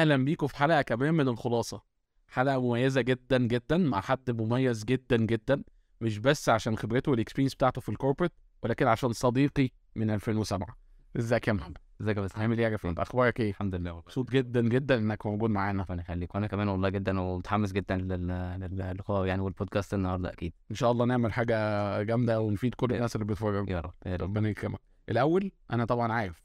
اهلا بيكم في حلقه كمان من الخلاصه. حلقه مميزه جدا جدا مع حد مميز جدا جدا، مش بس عشان خبرته والاكسبيرينس بتاعته في الكوربريت، ولكن عشان صديقي من 2007. ازيك يا محمد؟ ازيك يا بس؟ عامل ايه يا جفران؟ اخبارك ايه؟ الحمد لله والله. مبسوط جدا جدا انك موجود معانا. ربنا يخليك، وانا كمان والله جدا ومتحمس جدا للقاء يعني والبودكاست النهارده اكيد. ان شاء الله نعمل حاجه جامده ونفيد كل الناس اللي بتتفرج. يا رب يا رب. ربنا يكرمك. الاول انا طبعا عارف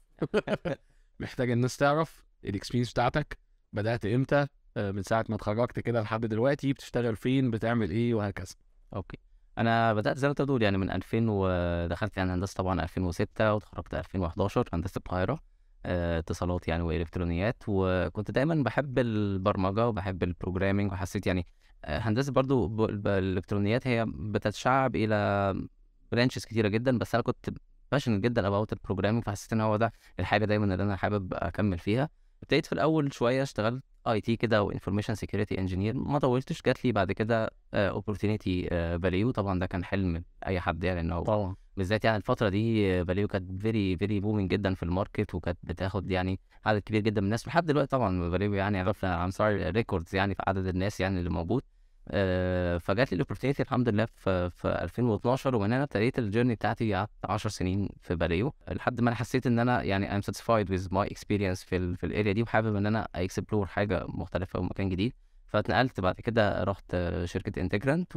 محتاج الناس تعرف الاكسبيرينس بتاعتك. بدات امتى؟ من ساعه ما اتخرجت كده لحد دلوقتي بتشتغل فين؟ بتعمل ايه؟ وهكذا. اوكي، انا بدات زي ما انت بتقول يعني من 2000 ودخلت يعني هندسه طبعا 2006 واتخرجت 2011 هندسه القاهره. اتصالات يعني والكترونيات، وكنت دايما بحب البرمجه وبحب البروجرامينج، وحسيت يعني هندسه برضو الالكترونيات هي بتتشعب الى برانشز كتيره جدا، بس انا كنت باشن جدا اباوت البروجرامينج، فحسيت ان هو ده الحاجه دايما اللي انا حابب اكمل فيها. ابتديت في الاول شويه اشتغلت اي تي كده وانفورميشن سيكيورتي انجينير، ما طولتش جات لي بعد كده اوبورتونيتي فاليو. طبعا ده كان حلم اي حد يعني، انه طبعا بالذات يعني الفتره دي فاليو كانت فيري بومينج جدا في الماركت، وكانت بتاخد يعني عدد كبير جدا من الناس لحد دلوقتي. طبعا فاليو يعني عرفنا عن صار ريكوردز يعني في عدد الناس يعني اللي موجود. فجات لي الاوبورتونيتي الحمد لله في 2012، ومن هنا ابتديت الجيرني بتاعتي. قعدت 10 سنين في فاليو لحد ما انا حسيت ان انا يعني I'm satisfied with my experience في الاريا دي، وحابب ان انا اكسبلور حاجه مختلفه ومكان جديد. فاتنقلت بعد كده، رحت شركه انتجرانت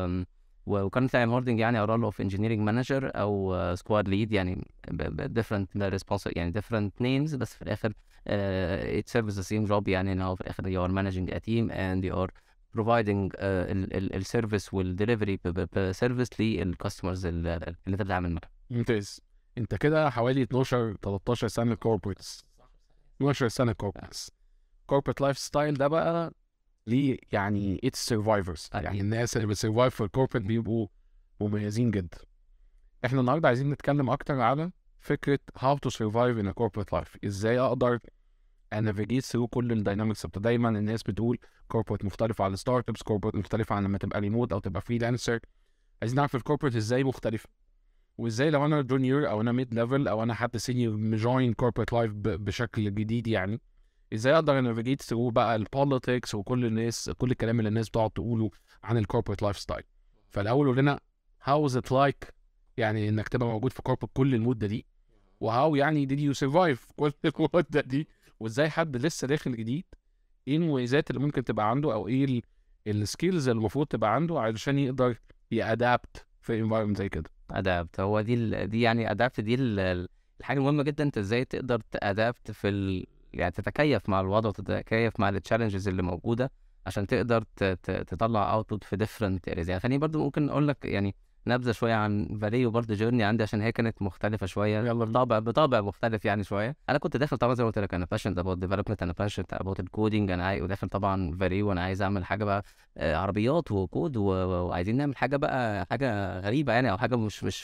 وكانت يعني هوردنج يعني رول اوف انجينيرنج مانجر او سكواد ليد، يعني different responsible يعني different names، بس في الاخر it serves the same job. يعني ان هو في الاخر you are managing a team and you are providing السيرفيس والدليفري بسيرفيس للكاستمرز اللي انت بتتعامل معاهم. ممتاز. انت كده حوالي 12 13 سنه كوربريتس. 12 سنه كوربريتس. كوربريت لايف ستايل ده بقى ليه يعني اتس سرفايفرز، يعني الناس اللي بتسرفايف في الكوربريت بيبقوا مميزين جدا. احنا النهارده عايزين نتكلم اكتر على فكره how to survive in a corporate life. ازاي اقدر انافيجيت ثرو كل الداينامكس. دايما الناس بتقول كوربريت مختلف عن الستارت ابس، كوربريت مختلف عن لما تبقى ريموت او تبقى فريلانسر. عايزين نعرف الكوربريت ازاي مختلفه، وازاي لو انا جونيور او انا ميد ليفل او انا حد سينيور مجوين كوربريت لايف بشكل جديد، يعني ازاي اقدر انافيجيت ثرو بقى البوليتكس وكل الناس، كل الكلام اللي الناس بتقعد تقوله عن الكوربريت لايف ستايل. فالاول قول لنا هاو از ات لايك، يعني انك تبقى موجود في كوربريت كل المده دي، وهاو يعني did you survive كل المده دي، وازاي حد لسه داخل جديد ايه المميزات اللي ممكن تبقى عنده، او ايه السكيلز اللي المفروض تبقى عنده علشان يقدر يادابت في environment زي كده. ادابت هو دي يعني ادابت دي الحاجه المهمه جدا. انت ازاي تقدر تادابت يعني تتكيف مع الوضع وتتكيف مع التشالنجز اللي موجوده عشان تقدر تطلع اوتبوت في ديفرنت اريز. يعني خليني برضو ممكن اقول لك يعني نبذه شويه عن فاليو برضه جيرني عندي، عشان هي كانت مختلفه شويه. يلا بطابع مختلف يعني شويه. انا كنت داخل طبعا زي ما قلت لك، انا باشنت اباوت ديفلوبمنت، انا باشنت اباوت الكودينج، انا عايز وداخل طبعا فاليو وانا عايز اعمل حاجه بقى عربيات وكود وعايزين نعمل حاجه بقى حاجه غريبه يعني، او حاجه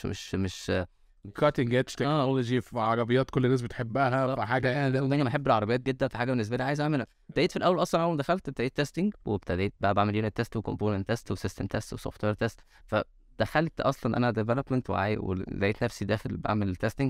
مش كاتنج ايدج تكنولوجي في عربيات كل الناس بتحبها، فحاجه انا بحب العربيات جدا، في حاجه بالنسبه لي عايز اعملها. ابتديت في الاول اصلا، اول ما دخلت ابتديت تيستنج، وابتديت بقى بعمل يونت تيست وكومبوننت تيست وسيستم تيست وسوفت وير تيست. فدخلت اصلا انا ديفلوبمنت ولقيت نفسي داخل بعمل تيستنج.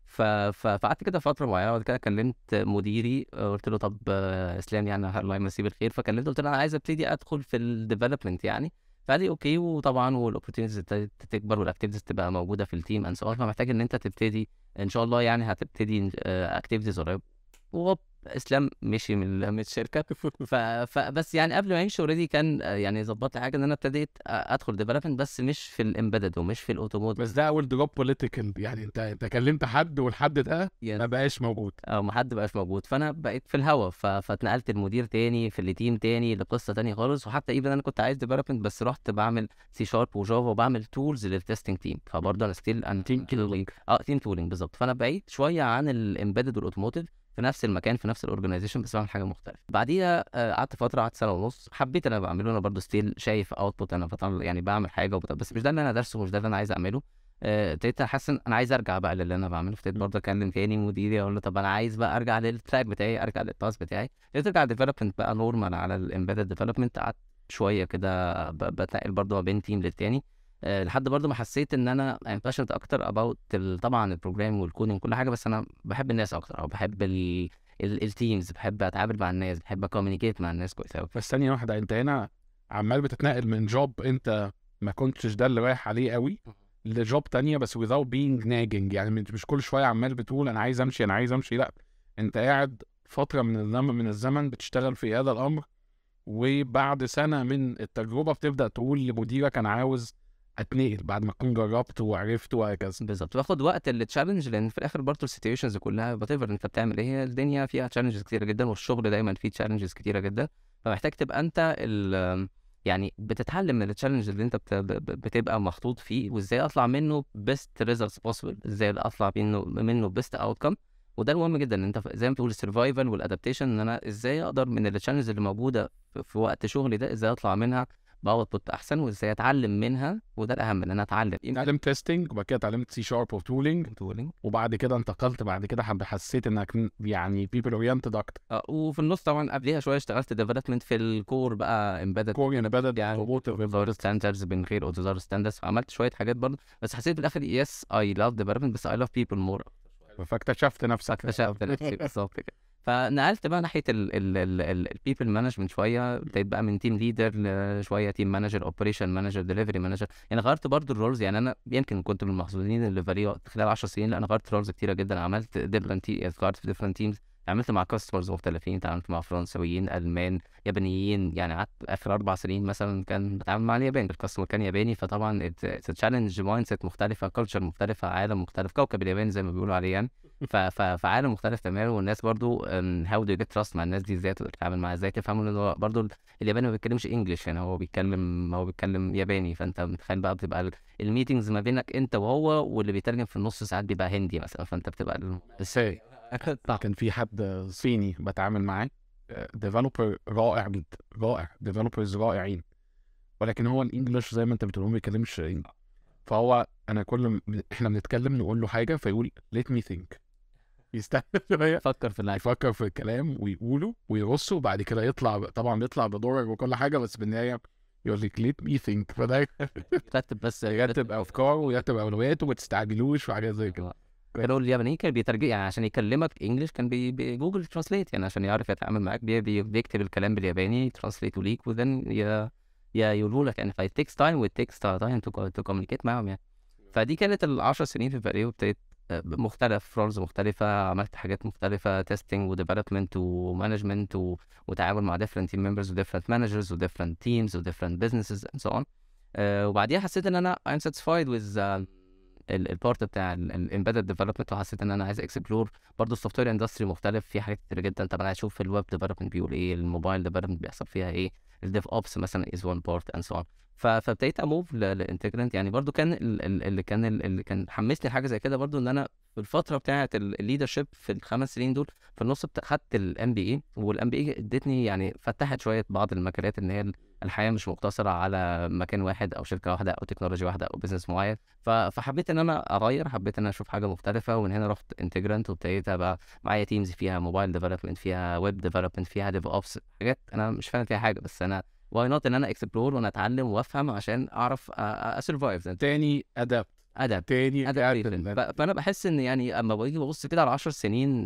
فقعدت كده فتره معينه، وبعد كده كلمت مديري، قلت له طب اسلام يعني الله يمسيه بالخير، فكلمته قلت له انا عايز ابتدي ادخل في الديفلوبمنت يعني. فقال لي اوكي، وطبعا والاوبورتيونيتيز تكبر والاكتيفيتيز تبقى موجوده في التيم اند سو، فمحتاج ان انت تبتدي ان شاء الله يعني هتبتدي اكتيفيتيز قريب. وهوب اسلام مشي من الشركه. فبس يعني قبل ما يمشي اوريدي كان يعني ظبط لي حاجه ان انا ابتديت ادخل ديفلوبمنت، بس مش في الامبيدد ومش في الاوتوموت. بس ده اول دروب بوليتيكال، يعني انت كلمت حد والحد ده ما بقاش موجود او ما حد بقاش موجود، فانا بقيت في الهوا. فاتنقلت المدير تاني في التيم تاني لقصه تاني خالص. وحتى ايفن انا كنت عايز ديفلوبمنت، بس رحت بعمل سي شارب وجافا وبعمل تولز للتستنج تيم. فبرضه انا ستيل انا تيم تولينج. تيم تولينج بالظبط. فانا بعيد شويه عن الامبيدد والاوتوموتيف في نفس المكان في نفس الاورجنايزيشن، بس بعمل حاجه مختلفه. بعديها قعدت فتره، قعدت سنه ونص، حبيت انا بعمله. انا برضه ستيل شايف اوتبوت، انا بطلع يعني بعمل حاجه بس مش ده اللي انا دارسه، مش ده اللي انا عايز اعمله. ابتديت احس ان انا عايز ارجع بقى للي انا بعمله. ابتديت برضه اكلم تاني مديري اقول له طب انا عايز بقى ارجع للتراك بتاعي، ارجع للباس بتاعي. ابتديت ارجع ديفلوبمنت بقى نورمال على الامبيدد ديفلوبمنت. قعدت شويه كده بتنقل برضه ما بين تيم للتاني، لحد برضه ما حسيت ان انا باشنت اكتر اباوت طبعا البروجرام والكودينج وكل حاجه، بس انا بحب الناس اكتر، او بحب التيمز، بحب اتعامل مع الناس، بحب اكومينيكيت مع الناس كويس قوي. بس ثانيه واحده، انت هنا عمال بتتنقل من جوب انت ما كنتش ده اللي رايح عليه قوي لجوب تانية، بس without being nagging. يعني مش كل شويه عمال بتقول انا عايز امشي انا عايز امشي، لا انت قاعد فتره من الزمن بتشتغل في هذا الامر، وبعد سنه من التجربه بتبدا تقول لمديرك انا عاوز اتنقل بعد ما تكون جربت وعرفت وهكذا. بالظبط، باخد وقت التشالنج، لان في الاخر برضه السيتويشنز كلها وات ايفر انت بتعمل ايه، الدنيا فيها تشالنجز كتيره جدا، والشغل دايما فيه تشالنجز كتيره جدا، فمحتاج تبقى انت يعني بتتعلم من التشالنج اللي انت بتبقى محطوط فيه، وازاي اطلع منه بيست ريزلتس بوسيبل، ازاي اطلع منه بيست اوتكم. وده المهم جدا، ان انت زي ما بتقول السرفايفل والادابتيشن، ان انا ازاي اقدر من التشالنجز اللي موجوده في وقت شغلي ده ازاي اطلع منها باوتبوت احسن، وازاي اتعلم منها، وده الاهم ان انا اتعلم. اتعلمت تيستنج، وبعد كده اتعلمت سي شارب وتولينج، وبعد كده انتقلت بعد كده حسيت انك يعني بيبل اورينتد اكتر. وفي النص طبعا قبليها شويه اشتغلت ديفلوبمنت في الكور بقى، امبيدد كور امبيدد يعني اوتوزار ستاندردز من غير اوتوزار ستاندردز، عملت شويه حاجات برضه، بس حسيت في الاخر يس اي لاف ديفلوبمنت، بس اي لاف بيبل مور. فاكتشفت نفسك. اكتشفت نفسي بالظبط كده. فنقلت بقى ناحيه البيبل مانجمنت شويه، ابتديت بقى من تيم ليدر لشويه تيم مانجر، اوبريشن مانجر، ديليفري مانجر. يعني غيرت برضو الرولز، يعني انا يمكن كنت من المحظوظين اللي فاليو خلال 10 سنين، لا انا غيرت رولز كتيره جدا، عملت ديفرنت غيرت في ديفرنت تيمز، اتعاملت مع كاستمرز مختلفين، اتعاملت مع فرنسويين، المان، يابانيين. يعني قعدت اخر 4 سنين مثلا كان بتعامل مع اليابان، الكاستمر كان ياباني، فطبعا تشالنج مايند سيت مختلفه، كلتشر مختلفه، عالم مختلف، كوكب اليابان زي ما بيقولوا عليه يعني. فعالم مختلف تماما، والناس برضو هاو دو جيت تراست مع الناس دي، ازاي تقدر تتعامل معاها، ازاي تفهموا ان هو برضو الياباني ما بيتكلمش انجلش، يعني هو بيتكلم ياباني، فانت متخيل بقى بتبقى الميتنجز ما بينك انت وهو، واللي بيترجم في النص ساعات بيبقى هندي مثلا، فانت بتبقى ازاي. كان في حد صيني بتعامل معاه، ديفلوبر رائع جدا، رائع، ديفلوبرز رائعين، ولكن هو الانجليش زي ما انت بتقول ما بيتكلمش. فهو انا احنا بنتكلم نقول له حاجه فيقول let me think، يستنى شويه يفكر في الكلام ويقوله ويرصه، وبعد كده يطلع، طبعا بيطلع بدورك وكل حاجه، بس بالنهايه يقول لك let me think. فده يرتب افكاره ويرتب اولوياته، وما تستعجلوش وحاجات زي كده. كانوا اليابانيين كان بيترجم، يعني عشان يكلمك انجلش كان بجوجل ترانسليت، يعني عشان يعرف يتعامل معاك بيكتب الكلام بالياباني ترانسليت ليك، وذن يقولوا لك يعني. فايت تيكس تايم وتيكس تايم تو كوميونيكيت معاهم يعني. فدي كانت ال10 سنين في فاليو، ابتديت مختلف رولز مختلفة، عملت حاجات مختلفة، تيستنج وديفلوبمنت ومانجمنت وتعامل مع different team members و different managers و different teams و different businesses and so on. وبعديها حسيت ان انا I'm satisfied with البارت بتاع الامبيدد ديفلوبمنت، وحسيت ان انا عايز اكسبلور برضه السوفت وير اندستري مختلف، في حاجات كتير جدا. طب انا عايز اشوف الويب ديفلوبمنت بيقول ايه، الموبايل ديفلوبمنت بيحصل فيها ايه، الديف اوبس مثلا از وان بارت اند سو اون. فابتديت اموف لانتجرنت. يعني برضو كان اللي كان حمسني حاجه زي كده برضو، ان انا في الفتره بتاعه الليدرشيب في ال5 سنين دول، في النص خدت الام بي اي، والام بي اي ادتني يعني فتحت شويه بعض المجالات، ان هي الحياه مش مقتصره على مكان واحد او شركه واحده او تكنولوجيا واحده او بزنس معين. فحبيت ان انا اغير، حبيت ان انا اشوف حاجه مختلفه، ومن هنا رحت انتجرنت، وابتديت ابقى معايا تيمز فيها موبايل ديفلوبمنت، فيها ويب ديفلوبمنت، فيها ديف اوبس، حاجات انا مش فاهم فيها حاجه، بس انا واي نوت ان انا اكسبلور وانا اتعلم وافهم عشان اعرف اسرفايف تاني ادابت تاني. فانا بحس ان يعني اما باجي ببص كده على 10 سنين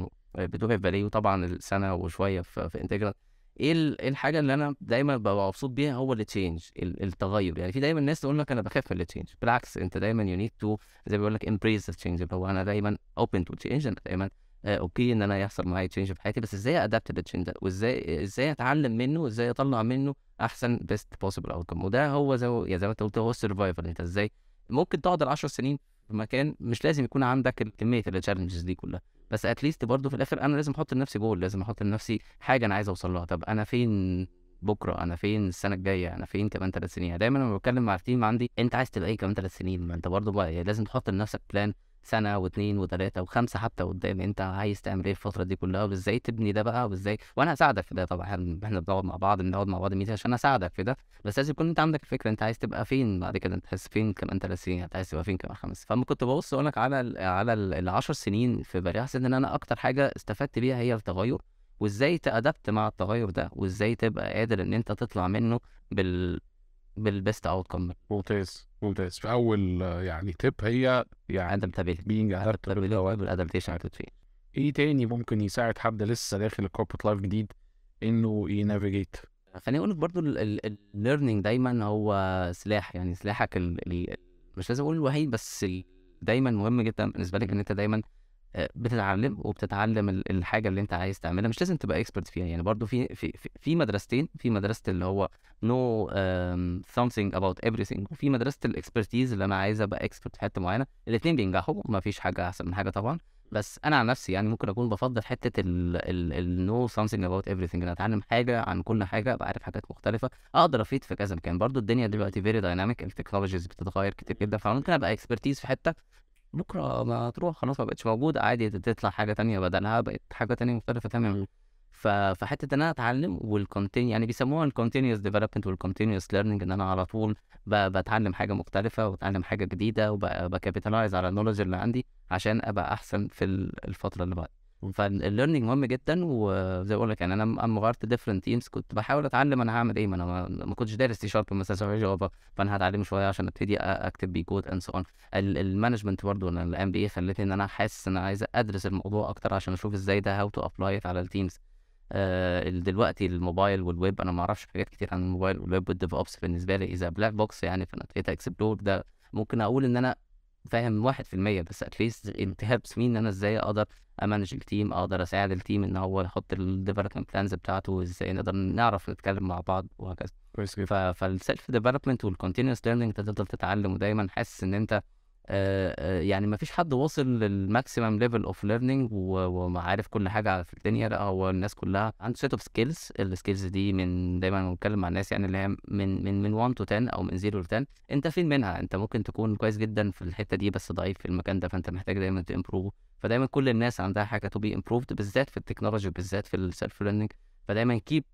بتوع فاليو، طبعا السنه وشويه في انتجرال، ايه الحاجه اللي انا دايما ببقى مبسوط بيها، هو التشينج، التغير. يعني في دايما الناس تقول لك انا بخاف من التشينج، بالعكس انت دايما يو نيد تو، زي ما بيقول لك امبريس التشينج، اللي هو انا دايما اوبن تو تشينج، انا دايما اوكي ان انا يحصل معايا تشينج في حياتي، بس ازاي ادابت للتشينج ده، وازاي اتعلم منه، وازاي اطلع منه احسن بيست بوسيبل اوتكم. وده هو زي ما انت قلت، هو السرفايفل. انت ازاي ممكن تقعد 10 سنين في مكان، مش لازم يكون عندك كميه التشالنجز دي كلها، بس اتليست برضه في الاخر انا لازم احط لنفسي جول، لازم احط لنفسي حاجه انا عايز اوصل لها. طب انا فين بكره، انا فين السنه الجايه، انا فين كمان 3 سنين. يعني دايما لما بتكلم مع التيم عندي، انت عايز تبقى ايه كمان 3 سنين؟ ما انت برضه بقى لازم تحط لنفسك بلان سنه واثنين وثلاثه وخمسه حتى قدام، انت عايز تعمل ايه الفتره دي كلها، وازاي تبني ده بقى، وازاي. وانا هساعدك في ده طبعا، احنا بنقعد مع بعض ميتين عشان اساعدك في ده، بس لازم يكون انت عندك الفكره انت عايز تبقى فين بعد كده، انت عايز فين كمان 3 سنين، انت عايز تبقى فين كمان 5. فاما كنت ببص اقول لك على ال10 سنين في بالي، حسيت ان انا اكتر حاجه استفدت بيها هي التغير، وازاي تأدبت مع التغير ده، وازاي تبقى قادر ان انت تطلع منه بالبيست اوتكم. ممتاز. في اول يعني تيب هي يعني ادابتابيلتي، being adaptable والادابتيشن تو تشينج. ايه تاني ممكن يساعد حد لسه داخل الكوربريت لايف جديد انه ينافيجيت؟ خليني اقول لك برضو الليرنينج دايما هو سلاح، يعني سلاحك مش لازم اقول الوحيد، بس دايما مهم جدا بالنسبه لك ان انت دايما بتتعلم وبتتعلم الحاجه اللي انت عايز تعملها، مش لازم تبقى اكسبرت فيها. يعني برضو في مدرستين، في مدرسه اللي هو نو something about everything، وفي مدرسه الاكسبرتيز اللي انا عايز ابقى اكسبرت في حته معينه. الاثنين بينجحوا، ما فيش حاجه احسن من حاجه طبعا، بس انا عن نفسي يعني ممكن اكون بفضل حته ال no something about everything، ان اتعلم حاجه عن كل حاجه، ابقى عارف حاجات مختلفه، اقدر افيد في كذا مكان. برضو الدنيا دلوقتي فيري دايناميك، التكنولوجيز بتتغير كتير جدا، فممكن ابقى اكسبرتيز في حته، بكره ما تروح خلاص ما بقتش موجود، عادي تطلع حاجه تانية بدلها، بقت حاجه تانية مختلفه تماما. فحته ان انا اتعلم والكونتين، يعني بيسموها الكونتينوس ديفلوبمنت والكونتينوس ليرنينج، ان انا على طول بتعلم حاجه مختلفه وبتعلم حاجه جديده وبكابيتالايز على النولج اللي عندي عشان ابقى احسن في الفتره اللي بعد. فالليرنينج مهم جدا. وزي ما بقول لك يعني انا اما غيرت ديفرنت تيمز كنت بحاول اتعلم انا هعمل ايه، ما انا ما كنتش دارس سي شارب مثلا زي جافا، فانا هتعلم شويه عشان ابتدي اكتب بيه كود اند سو اون. المانجمنت برضه، انا الام بي اي خلتني ان انا حاسس ان انا عايز ادرس الموضوع اكتر عشان اشوف ازاي ده هاو تو ابلاي على التيمز. دلوقتي الموبايل والويب انا ما اعرفش حاجات كتير عن الموبايل والويب والديف اوبس، بالنسبه لي اذا بلاك بوكس يعني، فانا ابتديت اكسبلور ده. ممكن اقول ان انا فاهم 1%، بس اتليست انت هيلبس مين ان انا ازاي اقدر امانج التيم، اقدر اساعد التيم ان هو يحط الديفلوبمنت بلانز بتاعته، ازاي نقدر نعرف نتكلم مع بعض وهكذا. كويس جدا. فالسيلف ديفلوبمنت والكونتينوس ليرنينج انت تفضل تتعلم، ودايما حاسس ان انت يعني ما فيش حد واصل للماكسيمم ليفل اوف ليرنينج وعارف كل حاجه في الدنيا، لا هو الناس كلها عنده سيت اوف سكيلز. السكيلز دي من دايما بتكلم مع الناس يعني اللي هي من 1 to 10 او من 0 ل 10، انت فين منها؟ انت ممكن تكون كويس جدا في الحته دي بس ضعيف في المكان ده، فانت محتاج دايما تمبروف. فدايما كل الناس عندها حاجه تو بي امبروفد، بالذات في التكنولوجي، بالذات في السيلف ليرنينج. فدايما كيب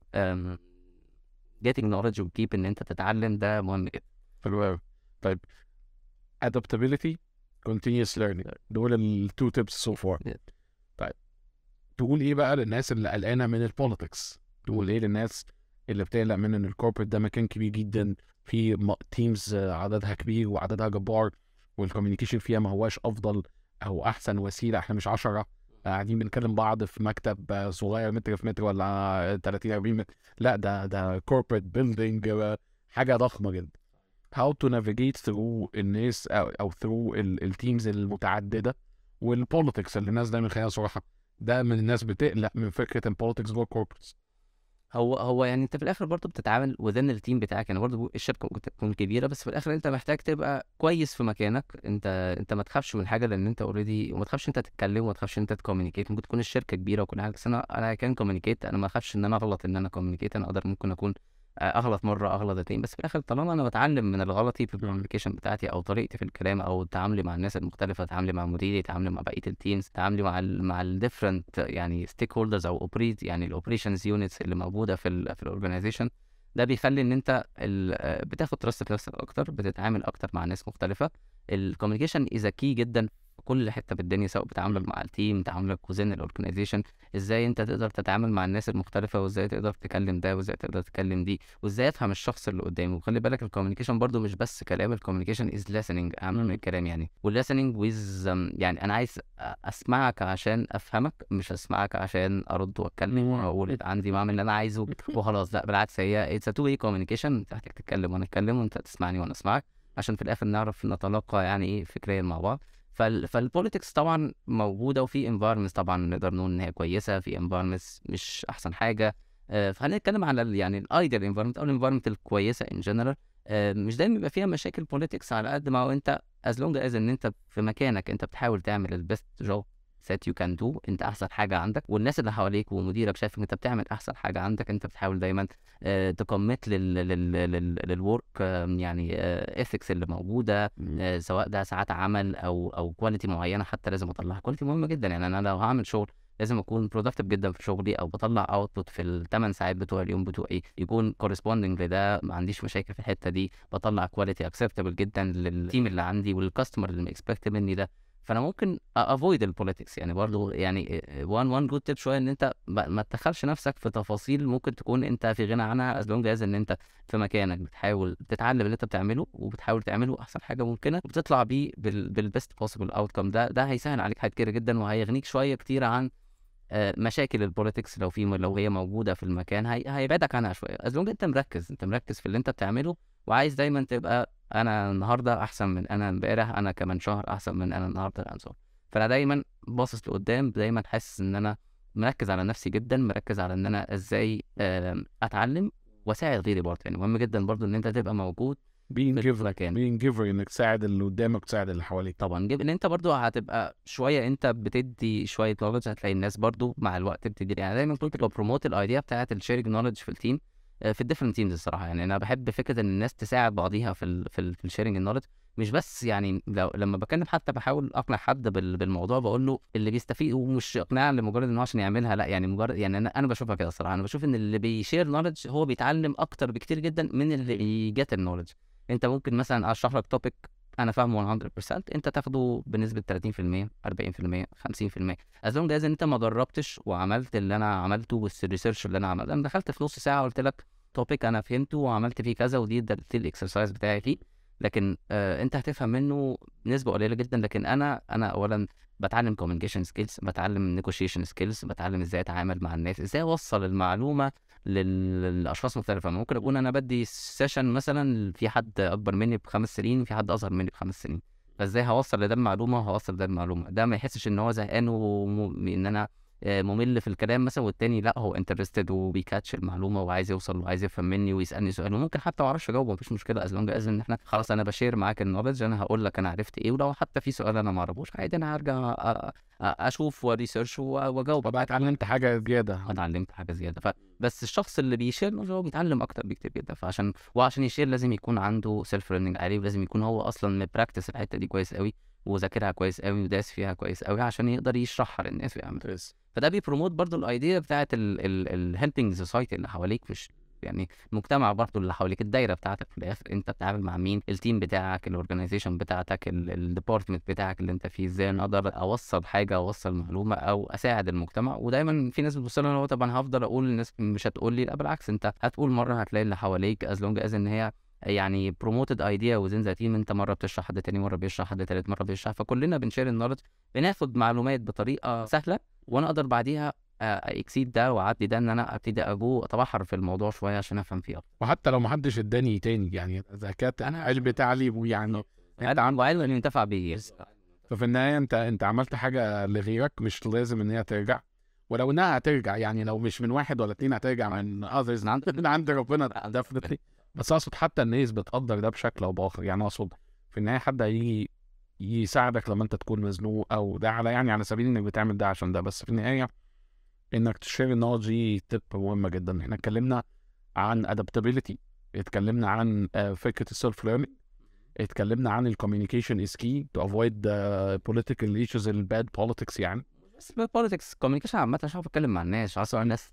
getting knowledge وكيب ان انت تتعلم، ده مهم جدا. حلو قوي. طيب adaptability continuous learning، دول التو تيبس so far. طيب تقول ايه بقى للناس اللي قلقانه من البوليتكس؟ تقول ايه للناس اللي بتقلق من ان الكوربريت ده مكان كبير جدا، في تيمز عددها كبير وعددها جبار، والكوميونيكيشن فيها ما هواش افضل او احسن وسيله، احنا مش 10 قاعدين بنكلم بعض في مكتب صغير متر في متر ولا 30 40 متر، لا ده كوربريت بيلدينج، حاجه ضخمه جدا. how to navigate through الناس او through التيمز المتعدده والبوليتكس اللي الناس دايما، خلينا صراحه، ده من الناس بتقلق من فكره البوليتكس جوه الكوربريتس. هو يعني انت في الاخر برضه بتتعامل وذن التيم بتاعك، يعني برضه الشركه ممكن تكون كبيره، بس في الاخر انت محتاج تبقى كويس في مكانك. انت ما تخافش من حاجه لان انت اوريدي، وما تخافش انت تتكلم، وما تخافش انت تكومينيكيت. ممكن تكون الشركه كبيره وكل حاجه، بس انا كان كومينيكيت، انا ما اخافش ان انا اغلط، ان انا كومينيكيت انا اقدر ممكن اكون اغلط مره اغلط اتنين، بس في الاخر طالما انا بتعلم من الغلطي في الكوميونيكيشن بتاعتي او طريقتي في الكلام او تعاملي مع الناس المختلفه، تعاملي مع مديري، تعاملي مع بقيه التيمز، تعاملي مع الديفرنت يعني ستيك هولدرز او اوبريت يعني الاوبريشنز يونتس اللي موجوده في الاورجنايزيشن، ده بيخلي ان انت بتاخد تراست في نفسك اكتر، بتتعامل اكتر مع ناس مختلفه. الكوميونيكيشن از كي جدا في كل حته في الدنيا، سواء بتعاملك مع التيم، تعاملك وزن الاورجنايزيشن، ازاي انت تقدر تتعامل مع الناس المختلفه، وازاي تقدر تكلم ده، وازاي تقدر تكلم دي، وازاي افهم الشخص اللي قدامي. وخلي بالك الكوميونيكيشن برضو مش بس كلام، الكوميونيكيشن از listening اهم من الكلام يعني. والlistening with يعني انا عايز اسمعك عشان افهمك، مش اسمعك عشان ارد واتكلم واقول عندي بعمل اللي انا عايزه وخلاص. لا بالعكس، هي it's a two way communication، انت محتاج تتكلم وانا اتكلم، وانت تسمعني وانا اسمعك، عشان في الاخر نعرف نتلاقى يعني ايه فكريا مع بعض. فالبوليتكس طبعا موجوده، وفي انفايرمنتس طبعا نقدر نقول ان هي كويسه، في انفايرمنتس مش احسن حاجه. فخلينا نتكلم على يعني الايديال انفايرمنت او الانفايرمنت الكويسه ان جنرال. مش دايما بيبقى فيها مشاكل بوليتكس، على قد ما هو انت as long as ان انت في مكانك انت بتحاول تعمل البيست جوب that you can do، انت احسن حاجه عندك، والناس اللي حواليك ومديرك شايف ان انت بتعمل احسن حاجه عندك، انت بتحاول دايما تكمت للورك يعني اثكس اللي موجوده، سواء ده ساعات عمل او كواليتي معينه، حتى لازم اطلعها. كواليتي مهمه جدا، يعني انا لو هعمل شغل لازم اكون برودكتيف جدا في شغلي، او بطلع اوتبوت في الثمان ساعات بتوع اليوم بتوعي يكون كورسبوندنج لده، ما عنديش مشاكل في الحته دي، بطلع كواليتي اكسبتبل جدا للتيم اللي عندي والكاستمر اللي اكسبكت مني ده. فانا ممكن افويد البوليتكس يعني برضو يعني وان جود تيب شويه ان انت ما تدخلش نفسك في تفاصيل ممكن تكون انت في غنى عنها، از لونج از ان انت في مكانك بتحاول تتعلم اللي انت بتعمله وبتحاول تعمله احسن حاجه ممكنه وبتطلع بيه بالبيست بوسيبل اوتكم. ده هيسهل عليك حاجات كتير جدا وهيغنيك شويه كتير عن مشاكل البوليتكس لو هي موجوده في المكان، هيبعدك عنها شويه. از لونج انت مركز في اللي انت بتعمله وعايز دايما تبقى انا النهارده احسن من انا امبارح، انا كمان شهر احسن من انا النهارده كمان شهر. فانا دايما باصص لقدام، دايما حاسس ان انا مركز على نفسي جدا، مركز على ان انا ازاي اتعلم واساعد غيري برضه. يعني مهم جدا برضه ان انت تبقى موجود being في giver المكان. انك تساعد اللي قدامك وتساعد اللي حواليك. طبعا ان انت برضو هتبقى شويه انت بتدي شويه نولج، هتلاقي الناس برضو مع الوقت بتدي. يعني دايما كنت ببروموت الايديا بتاعه الشيرنج نولج في التيم في الديفرنت تيمز الصراحه. يعني انا بحب فكره ان الناس تساعد بعضيها في الشيرنج النولج، مش بس يعني لما بكلم حتى بحاول اقنع حد بالموضوع بقول له اللي بيستفيد، ومش اقناع لمجرد ان هو عشان يعملها، لا يعني مجرد يعني انا بشوفها كده الصراحه. انا بشوف ان اللي بيشير نولج هو بيتعلم اكتر بكتير جدا من اللي بيجت النولج. انت ممكن مثلا اشرح لك توبيك انا فاهمه 100%، انت تاخده بنسبه 30%، 40%، 50%، از لونج از انت ما جربتش وعملت اللي انا عملته والريسيرش اللي انا عملته. انا دخلت في نص ساعه قلت لك توبيك انا فهمته وعملت فيه كذا ودي ده الاكسرسايز بتاعي فيه، لكن انت هتفهم منه نسبه قليله جدا. لكن انا اولا بتعلم كوميونيكيشن سكيلز، بتعلم نيجوشيشن سكيلز، بتعلم ازاي اتعامل مع الناس، ازاي اوصل المعلومه للاشخاص مختلفه. ممكن اكون انا بدي سيشن مثلا في حد اكبر مني ب5 سنين، في حد اصغر مني ب5 سنين، فازاي هوصل لده المعلومه وهوصل لده المعلومه، ده ما يحسش ان هو زهقان ان انا ممل في الكلام مثلا، والتاني لا هو انترستد وبيكاتش المعلومه وعايز يوصل وعايز يفهم مني ويسالني سؤال، وممكن حتى ما اعرفش اجاوبه مفيش مشكله، از لونج از ان احنا خلاص انا بشير معاك النولج، انا هقول لك انا عرفت ايه، ولو حتى في سؤال انا ما اعرفوش عادي انا هرجع اشوف وريسيرش واجاوب. طبعا اتعلمت حاجه زياده. اتعلمت حاجه زياده. بس الشخص اللي بيشير هو بيتعلم اكتر بكتير جدا. وعشان يشير لازم يكون عنده سيلف ليرنينج عالي، ولازم يكون هو اصلا مبراكتس الحته دي كويس قوي وذاكرها كويس قوي وداس فيها كويس قوي عشان يقدر يشرحها للناس ويعمل. فده بيبروموت برضو الايديا بتاعت الهيلبينج سوسايتي اللي حواليك، مش يعني المجتمع برضو اللي حواليك، الدايره بتاعتك في الاخر انت بتتعامل مع مين، التيم بتاعك، الاورجنايزيشن بتاعتك، الديبارتمنت بتاعك اللي انت فيه، ازاي انا اقدر اوصل حاجه، اوصل معلومه او اساعد المجتمع. ودايما في ناس بتبص لها هو طبعا هفضل اقول للناس مش هتقول لي، لا بالعكس انت هتقول مره هتلاقي اللي حواليك از لونج از ان هي يعني بروموتد ايديا وزين ذا تيم، انت مره بتشرح حد تاني مره بيشرح حد تالت مره بيشرح، فكلنا بنشير النولج، بناخد معلومات بطريقه سهله وانا اقدر بعديها اكسيد ده واعدي ده ان انا ابتدي اتبحر في الموضوع شويه عشان افهم فيه اكتر. وحتى لو ما حدش اداني تاني يعني اذا كانت انا علم تعليم ويعني انت علم وعلم اللي ينتفع بيه. ففي النهايه انت عملت حاجه لغيرك، مش لازم ان هي ترجع، ولو انها هترجع يعني لو مش من واحد ولا اتنين هترجع من others من عند ربنا definitely. بس اقصد حتى الناس بتقدر ده بشكل او باخر. يعني اقصد في النهايه حد هيجي يساعدك لما انت تكون مزنوق، او ده على يعني على سبيل انك بتعمل ده عشان ده، بس في النهايه انك تشير النولج دي تب مهمه جدا. احنا اتكلمنا عن adaptability، اتكلمنا عن فكره السيلف ليرنينج، اتكلمنا عن الكوميونيكيشن از كي تو افويد political issues الباد politics يعني. بس بوليتكس كوميونيكيشن عامه عشان بتكلم مع الناس، عشان الناس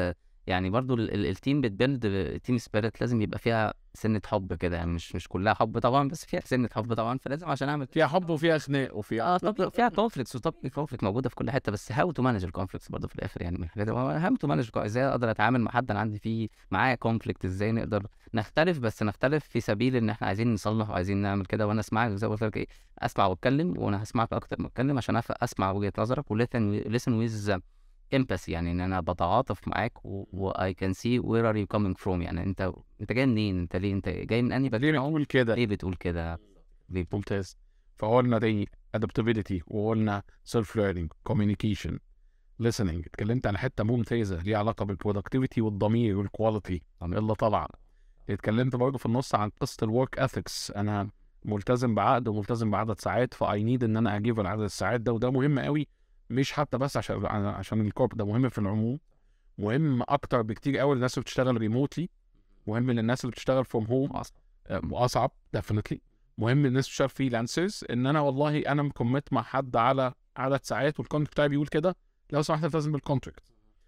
يعني برضو التيم بتبيلد تيم سبيريت، لازم يبقى فيها سنه حب كده، يعني مش كلها حب طبعا بس فيها سنه حب طبعا، فلازم عشان اعمل فيها حب وفيها خناق وفيها طب فيها كونفليكتس، وطب الكونفليكت موجوده في كل حته، بس هاو تو مانج الكونفليكتس برضه في الاخر. يعني من الحاجات هاو تو مانج ازاي اقدر اتعامل مع حد انا عندي فيه معاه كونفليكت، ازاي نقدر نختلف بس نختلف في سبيل ان احنا عايزين نصلح وعايزين نعمل كده، وانا اسمعك زي ما قلت لك ايه، اسمع واتكلم، وانا هسمعك اكتر ما اتكلم عشان اسمع وجهه نظرك وليسن ويز امباثي، يعني ان انا بتعاطف معاك I can see where are you coming from، يعني انت جاي منين، انت ليه، انت جاي من انهي ليه بتقول كده، ليه بتقول كده. ممتاز. فقلنا دي adaptability، وقلنا self learning، communication، listening، اتكلمت عن حته ممتازه ليها علاقه بالبرودكتيفيتي والضمير والكواليتي اللي طالعه. اتكلمت برضه في النص عن قصه الورك اثكس، انا ملتزم بعقد وملتزم بعدد ساعات، فاي نيد ان انا اجيب عدد الساعات ده، وده مهم قوي، مش حتى بس عشان الكورب، ده مهم في العموم، مهم اكتر بكتير قوي للناس اللي بتشتغل ريموتلي، مهم للناس اللي بتشتغل فروم هوم، واصعب ديفينتلي، مهم للناس اللي بتشتغل فريلانسرز، ان انا والله انا مكمت مع حد على عدد ساعات والكونتراكت بتاعي بيقول كده، لو سمحت التزم بالكونتراكت.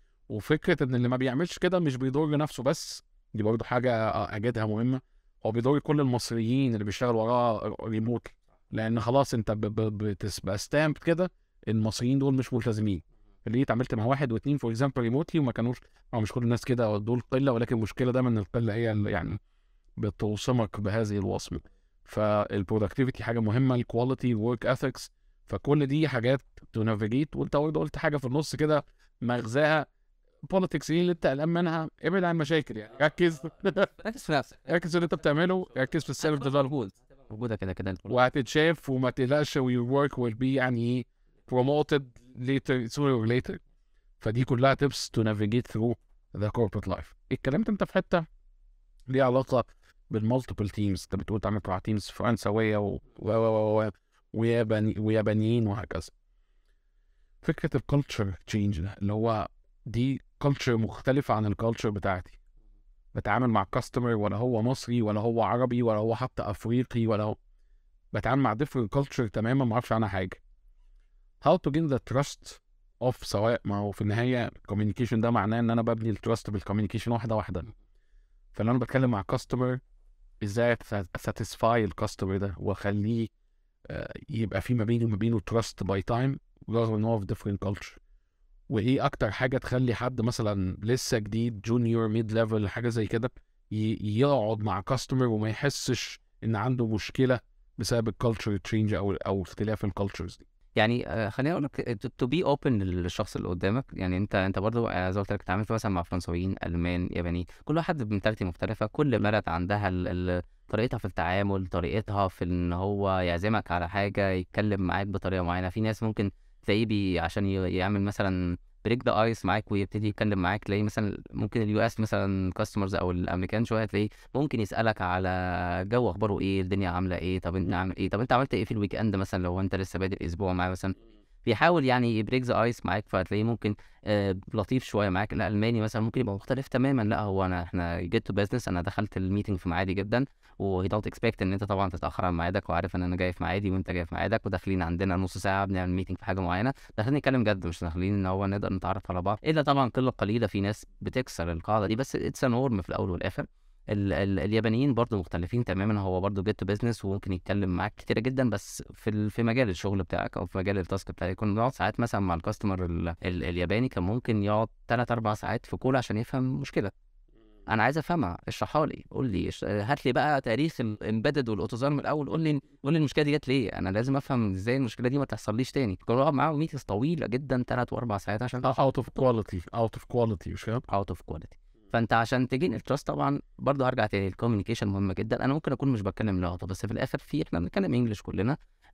وفكره ان اللي ما بيعملش كده مش بيضر نفسه بس، دي برضه حاجه اجدها مهمه، هو بيضر كل المصريين اللي بيشتغلوا وراه ريموتلي، لان خلاص انت بتبقى ستامب كده المصريين دول مش ملتزمين. اللي اتعاملت مع واحد واثنين فور اكزامبل ريموتلي وما كانوش، او مش كل الناس كده، دول قله، ولكن المشكله دايما ان القله هي اللي يعني بتوصمك بهذه الوصمه. فالبرودكتيفيتي حاجه مهمه، الكواليتي، الورك اثكس، فكل دي حاجات تو نافيجيت. وانت برضه قلت حاجه في النص كده مغزاها بوليتكس، ايه اللي انت قلقان منها؟ ابعد عن المشاكل يعني، ركز ركز في نفسك، ركز في اللي انت بتعمله، ركز في السيلف ديفلوبمنت موجوده كده كده وهتتشاف، وما تقلقش your work will be يعني ايه promoted later sooner or later. فدي كلها tips to navigate through the corporate life. اتكلمت انت في حته ليها علاقه بالمالتيبل تيمز، انت بتقول تعمل مع تيمز فرنسويه ويابانيين وهكذا. فكره الكالتشر تشينج ده اللي هو دي كالتشر مختلفه عن الكالتشر بتاعتي، بتعامل مع كاستمر ولا هو مصري ولا هو عربي ولا هو حتى افريقي ولا هو، بتعامل مع different culture تماما ما اعرفش عنها حاجه. how to gain the trust of، سواء ما هو في النهايه communication ده معناه ان انا ببني التراست بالكوميونيكيشن واحده واحده. فلو انا بتكلم مع كاستمر ازاي satisfy الكاستمر ده واخليه يبقى في ما بيني وما بينه trust by time رغم ان هو في different culture. وايه اكتر حاجه تخلي حد مثلا لسه جديد جونيور ميد ليفل حاجه زي كده يقعد مع كاستمر وما يحسش ان عنده مشكله بسبب الكالتشر تشينج او اختلاف الكالتشرز دي. يعني خليني اقول لك تو بي اوبن للشخص اللي قدامك. يعني انت برضو زي ما قلت لك اتعاملت مثلا مع فرنساويين، المان، ياباني، كل واحد بمنتاليتي مختلفه. كل بلد عندها طريقتها في التعامل، طريقتها في ان هو يعزمك على حاجه، يتكلم معاك بطريقه معينه. في ناس ممكن تلاقيه عشان يعمل مثلا بريك ذا ايس معاك ويبتدي يتكلم معاك، تلاقيه مثلا ممكن اليو اس مثلا كاستمرز او الامريكان شويه تلاقيه ممكن يسالك على جو اخباره ايه، الدنيا عامله ايه، طب انت عامل ايه، طب انت عملت ايه في الويك اند مثلا لو انت لسه بادئ اسبوع معاه مثلا. بيحاول يعني يبريك ذا ايس معاك، فتلاقيه ممكن لطيف شويه معاك. الالماني مثلا ممكن يبقى مختلف تماما، لا هو احنا جيت تو بزنس، انا دخلت الميتنج في ميعادي جدا، وهي دونت اكسبكت ان انت طبعا تتاخر عن ميعادك، وعارف ان انا جاي في ميعادي وانت جاي في ميعادك، وداخلين عندنا نص ساعه بنعمل ميتنج في حاجه معينه، داخلين نتكلم جد، مش داخلين ان هو نقدر نتعرف على بعض. الا طبعا قله قليله في ناس بتكسر القاعده دي، بس اتس نورم في الاول والاخر. اليابانيين برضو مختلفين تماما، هو برضو جيت تو بزنس وممكن يتكلم معاك كتير جدا، بس في مجال الشغل بتاعك او في مجال التاسك بتاعك. كنا بنقعد ساعات مثلا مع الكاستمر الياباني، كان ممكن يقعد 3 4 ساعات في كول عشان يفهم مشكله. انا عايز افهمها، اشرحها لي، قول لي هات لي بقى تاريخ الامبيدد والاوتوزار من الاول، قول لي المشكله دي جت ليه، انا لازم افهم ازاي المشكله دي ما تحصليش تاني. كنا بنقعد معاهم ميتنجز طويله جدا 3 و4 ساعات عشان out of quality مش فاهم. اوت اوف كواليتي. فانت عشان تجين التراست طبعا برضه هرجع تاني، الكوميونيكيشن مهمه جدا. انا ممكن اكون مش بتكلم لغته، بس في الاخر احنا بنتكلم انجلش كلنا.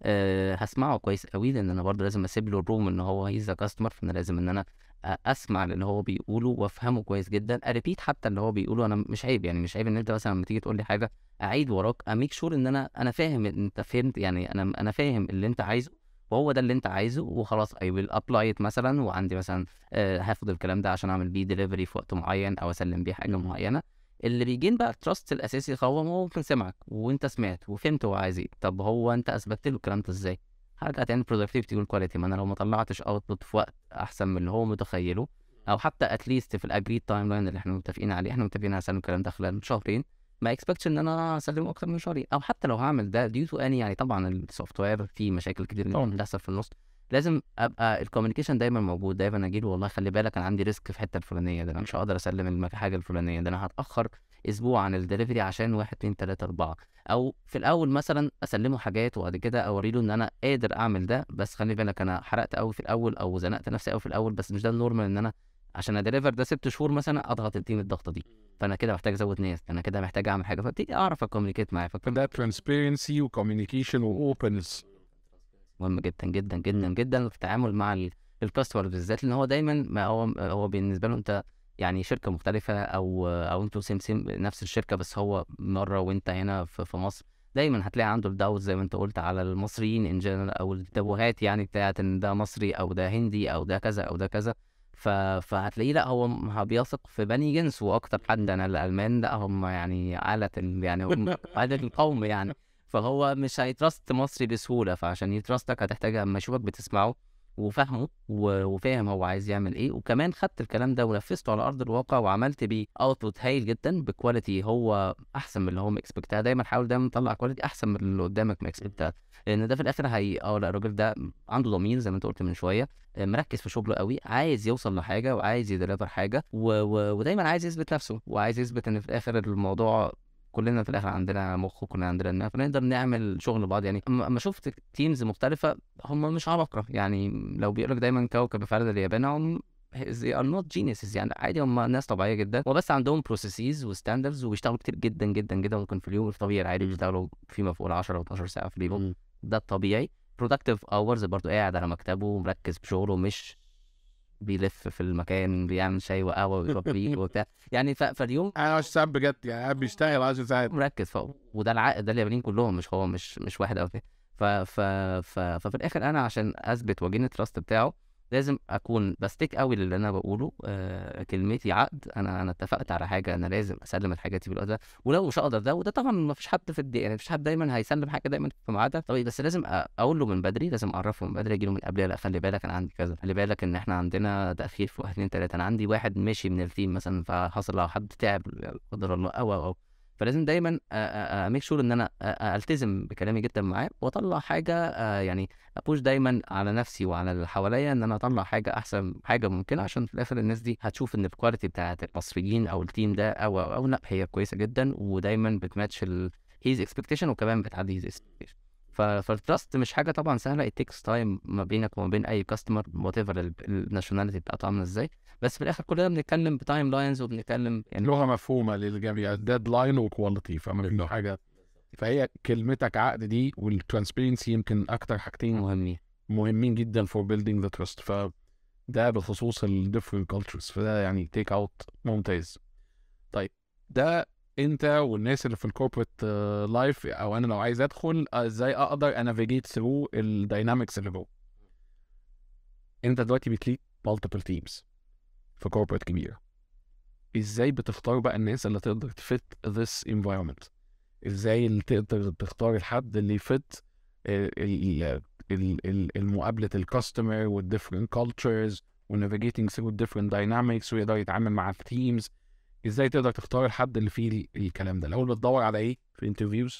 هسمعه كويس قوي، لان انا برضه لازم اسيب له الروم ان هو هيز كاستمر، فانا لازم ان انا اسمع اللي هو بيقوله وافهمه كويس جدا، اريبيت حتى اللي هو بيقوله. انا مش عيب، يعني مش عيب ان انت مثلا لما تيجي تقول لي حاجه اعيد وراك، اميك شور ان انا فاهم انت فهمت، يعني انا فاهم اللي انت عايزه وهو ده اللي انت عايزه وخلاص. I will apply it مثلا، وعندي مثلا هاخد الكلام ده عشان اعمل بيه ديليفري في وقت معين او اسلم بيه حاجه معينه. اللي بيجين بقى التراست الاساسي هو ممكن سمعك وانت سمعت وفهمت هو عايز ايه. طب هو انت اثبتت له الكلام ده ازاي؟ هرجع تاني productivity والكواليتي. ما انا لو ما طلعتش اوتبوت في وقت احسن من اللي هو متخيله، او حتى اتليست في الاجريد تايم لاين اللي احنا متفقين عليه، احنا متفقين على اسلم الكلام ده خلال شهرين، ما اكسبكتش ان انا اسلمه اكتر من شهرين. او حتى لو هعمل ده ديو تو اني، يعني طبعا السوفت وير فيه مشاكل كتير طبعاً. بتحصل في النص، لازم ابقى الكوميونيكيشن دايما موجود. دايما اجي له والله خلي بالك انا عندي ريسك في الحته الفلانيه، ده انا مش هقدر اسلم الحاجه الفلانيه، ده انا هتاخر اسبوع عن الدليفري عشان 1 2 3 4. او في الاول مثلا اسلمه حاجات وبعد كده اوري له ان انا قادر اعمل ده، بس خلي بالك انا حرقت قوي في الاول او زنقت نفسي قوي في الاول، بس مش ده النورمال ان انا عشان اديليفر ده 6 شهور مثلا اضغط التيم الضغطه دي. فانا كده محتاج ازود ناس، انا كده محتاج اعمل حاجه، فابتدي اعرف اكوميونيكيت معاه. ده transparency وcommunication وopenness. مهم جدا جدا جدا جدا في التعامل مع الكاستمر بالذات، لان هو دايما ما هو بالنسبه له انت يعني شركه مختلفه، او انتوا سيم نفس الشركه بس هو مره وانت هنا في مصر. دايما هتلاقي عنده الداوت زي ما انت قلت على المصريين ان جنرال، او التبوهات يعني بتاعت ان ده مصري او ده هندي او ده كذا او ده كذا. فهتلاقيه لا هو بيثق في بني جنسه اكتر حد. انا الالمان لا هم يعني يعني هم عادة القوم يعني، فهو مش هيترست مصري بسهوله. فعشان يترستك هتحتاج اما يشوفك بتسمعه وفاهمه وفاهم هو عايز يعمل ايه، وكمان خدت الكلام ده ونفذته على ارض الواقع وعملت بيه اوتبوت هايل جدا بكواليتي هو احسن من اللي هو مكسبكتها. دايما حاول دايما تطلع كواليتي احسن من اللي قدامك مكسبكتها، لان ده في الاخر هي لا الراجل ده عنده ضمير زي ما انت قلت من شويه، مركز في شغله قوي، عايز يوصل لحاجه وعايز يدليفر حاجه ودايما عايز يثبت نفسه وعايز يثبت ان في الاخر الموضوع كلنا في الاخر عندنا مخ وكلنا عندنا دماغ، فنقدر نعمل شغل بعض. يعني اما شفت تيمز مختلفه هم مش عبقرة، يعني لو بيقولك دايما كوكب فرد اليابان هم they are not geniuses، يعني عادي هم ناس طبيعيه جدا، وبس عندهم بروسيسز وستاندردز وبيشتغلوا كتير جدا جدا جدا، ممكن في اليوم الطبيعي العادي بيشتغلوا فيما فوق ال 10 و 12 ساعه في اليوم، ده الطبيعي. productive hours برضو قاعد على مكتبه مركز في شغله، مش بيلف في المكان بيعمل شاي وقهوه ويشرب فيه وبتاع، يعني فاليوم انا 10 ساعات بجد، يعني قاعد بيشتغل 10 ساعات مركز وده العقد ده اليابانيين كلهم، مش هو مش واحد او اتنين. ففي الاخر انا عشان اثبت واجين التراست بتاعه لازم اكون بستيك قوي للي انا بقوله، كلمتي عقد، انا اتفقت على حاجه، انا لازم اسلم الحاجات دي بالوقت ده، ولو مش هقدر ده، وده طبعا ما فيش حد في يعني مفيش حد دايما هيسلم حاجه دايما في ميعادها طبيعي، بس لازم اقول له من بدري، لازم اعرفه من بدري، اجي له من قبل، لا خلي بالك انا عندي كذا، خلي بالك ان احنا عندنا تاخير في 1 2 3، انا عندي واحد ماشي من التيم مثلا فحصل لو حد تعب لا قدر الله او فلازم دايما اميك شور ان انا التزم بكلامي جدا معاه واطلع حاجه، يعني ابوش دايما على نفسي وعلى اللي حواليا ان انا اطلع حاجه احسن حاجه ممكنه، عشان في الاخر الناس دي هتشوف ان الكواليتي بتاعت المصريين او التيم ده او لا هي كويسه جدا، ودايما بتماتش هيز اكسبكتيشن وكمان بتعدي هيز اكسبكتيشن. فالتراست مش حاجه طبعا سهله، it takes time ما بينك وما بين اي كاستمر وات ايفر الناشوناليتي بتاعته عامله ازاي، بس في الاخر كلنا بنتكلم بتايم لاينز وبنتكلم يعني لغه مفهومه للجميع، ديدلاين وكواليتي، فاهم حاجه. فهي كلمتك عقد دي والترانسبيرنسي يمكن اكتر حاجتين مهمين جدا for building the trust. فده بخصوص ال different cultures، فده يعني take out ممتاز. طيب ده انت والناس اللي في الكوربريت لايف، او انا لو عايز ادخل ازاي اقدر انافيجيت ثرو الداينامكس اللي جوه. انت دلوقتي بتليد multiple teams في كوربريت كبيره، ازاي بتختار بقى الناس اللي تقدر تفت this environment؟ ازاي اللي تقدر تختار الحد اللي يفت المقابله الكاستمر والديفرنت كالتشرز ونافيجيتنج ثرو الديفرنت داينامكس ويقدر يتعامل مع التيمز؟ ازاي تقدر تختار الحد اللي فيه الكلام ده؟ الاول بتدور على ايه في انترفيوز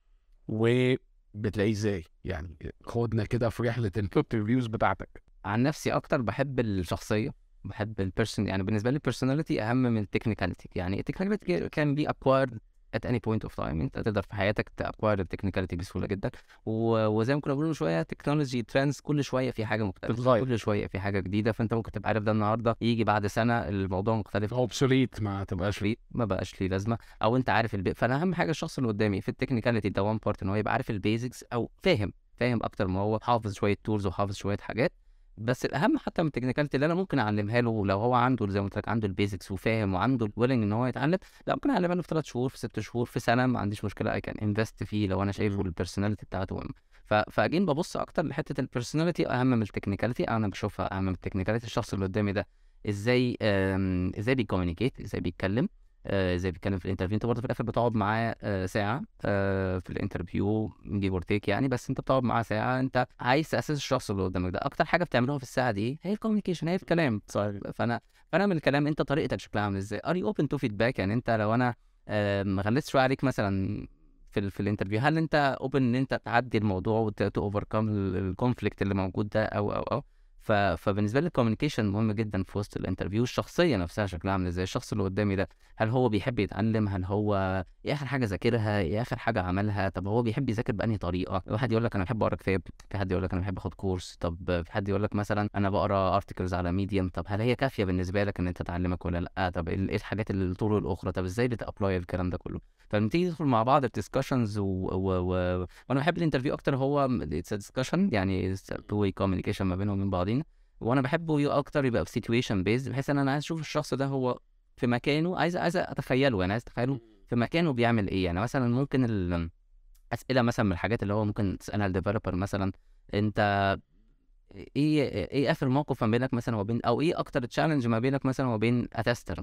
وبتلاقيه ازاي؟ يعني خدنا كده في رحله الانترفيوز بتاعتك. عن نفسي اكتر بحب الشخصيه، بحب البيرسون، يعني بالنسبه لي البيرسوناليتي اهم من التكنيكاليتي، يعني التكنيكاليتي كان بي اكوايرد at any point of time، انت تقدر في حياتك تاكواير التكنيكاليتي بسهوله جدا، وزي ما كنا بنقول شويه تكنولوجي ترندز كل شويه في حاجه مختلفه بتغير كل شويه في حاجه جديده، فانت ممكن تبقى عارف ده النهارده يجي بعد سنه الموضوع مختلف اوبسوليت، ما تبقاش ليه ما بقاش ليه لازمه، او انت عارف فانا اهم حاجه الشخص اللي قدامي في التكنيكاليتي ده وان بارت ان هو يبقى عارف البيزكس او فاهم اكتر ما هو حافظ شويه تولز وحافظ شويه حاجات، بس الاهم حتى من التكنيكاليتي اللي انا ممكن اعلمها له لو هو عنده زي ما قلت لك عنده البيزكس وفاهم وعنده الويلنج ان هو يتعلم، لا ممكن اعلمها له في 3 شهور في 6 شهور في سنه، ما عنديش مشكله، اي كان انفست فيه لو انا شايفه البيرسوناليتي بتاعته مهم. فاجين ببص اكتر لحته البيرسوناليتي اهم من التكنيكاليتي، انا بشوفها اهم من التكنيكاليتي. الشخص اللي قدامي ده ازاي بيكومينيكيت، ازاي بيتكلم، ازاي بيتكلم في الانترفيو، انت برضه في الاخر بتقعد معاه ساعه في الانترفيو جيف اور تيك يعني، بس انت بتقعد معاه ساعه، انت عايز تاسس الشخص اللي قدامك ده، اكتر حاجه بتعملوها في الساعه دي هي الكوميونيكيشن، هي الكلام. صحيح. فانا من الكلام انت طريقتك شكلها عامل ازاي، ار يو اوبن تو فيدباك، يعني انت لو انا ما غلست شويه عليك مثلا في الانترفيو، هل انت اوبن ان انت تعدي الموضوع اوفركم الكونفليكت اللي موجود ده او فبالنسبه لي الكوميونيكيشن مهم جدا في وسط الانترفيو. الشخصيه نفسها شكلها عامل ازاي، الشخص اللي قدامي ده هل هو بيحب يتعلم، هل هو ايه اخر حاجه ذاكرها، ايه اخر حاجه عملها، طب هو بيحب يذاكر بانهي طريقه، واحد يقول لك انا بحب اقرا كتاب، في حد يقول لك انا بحب اخد كورس، طب في حد يقول لك مثلا انا بقرا ارتكلز على ميديم، طب هل هي كافيه بالنسبه لك ان انت تعلمك ولا لا، طب ايه الحاجات الطرق الاخرى، طب ازاي بتابلاي الكلام ده كله. فلما تيجي تدخل مع بعض الديسكشنز وانا بحب الانترفيو اكتر، هو اتس ديسكشن يعني تو واي كوميونيكيشن ما بينهم وبين بعضينا، وانا بحبه اكتر يبقى في سيتويشن بيز، بحيث ان انا عايز اشوف الشخص ده هو في مكانه، عايز اتخيله، يعني عايز اتخيله في مكانه بيعمل ايه. يعني مثلا ممكن الاسئله مثلا من الحاجات اللي هو ممكن تسالها الديفلوبر مثلا، انت ايه اخر موقف ما بينك مثلا وبين، او ايه اكتر تشالنج ما بينك مثلا وبين اتستر مثلا،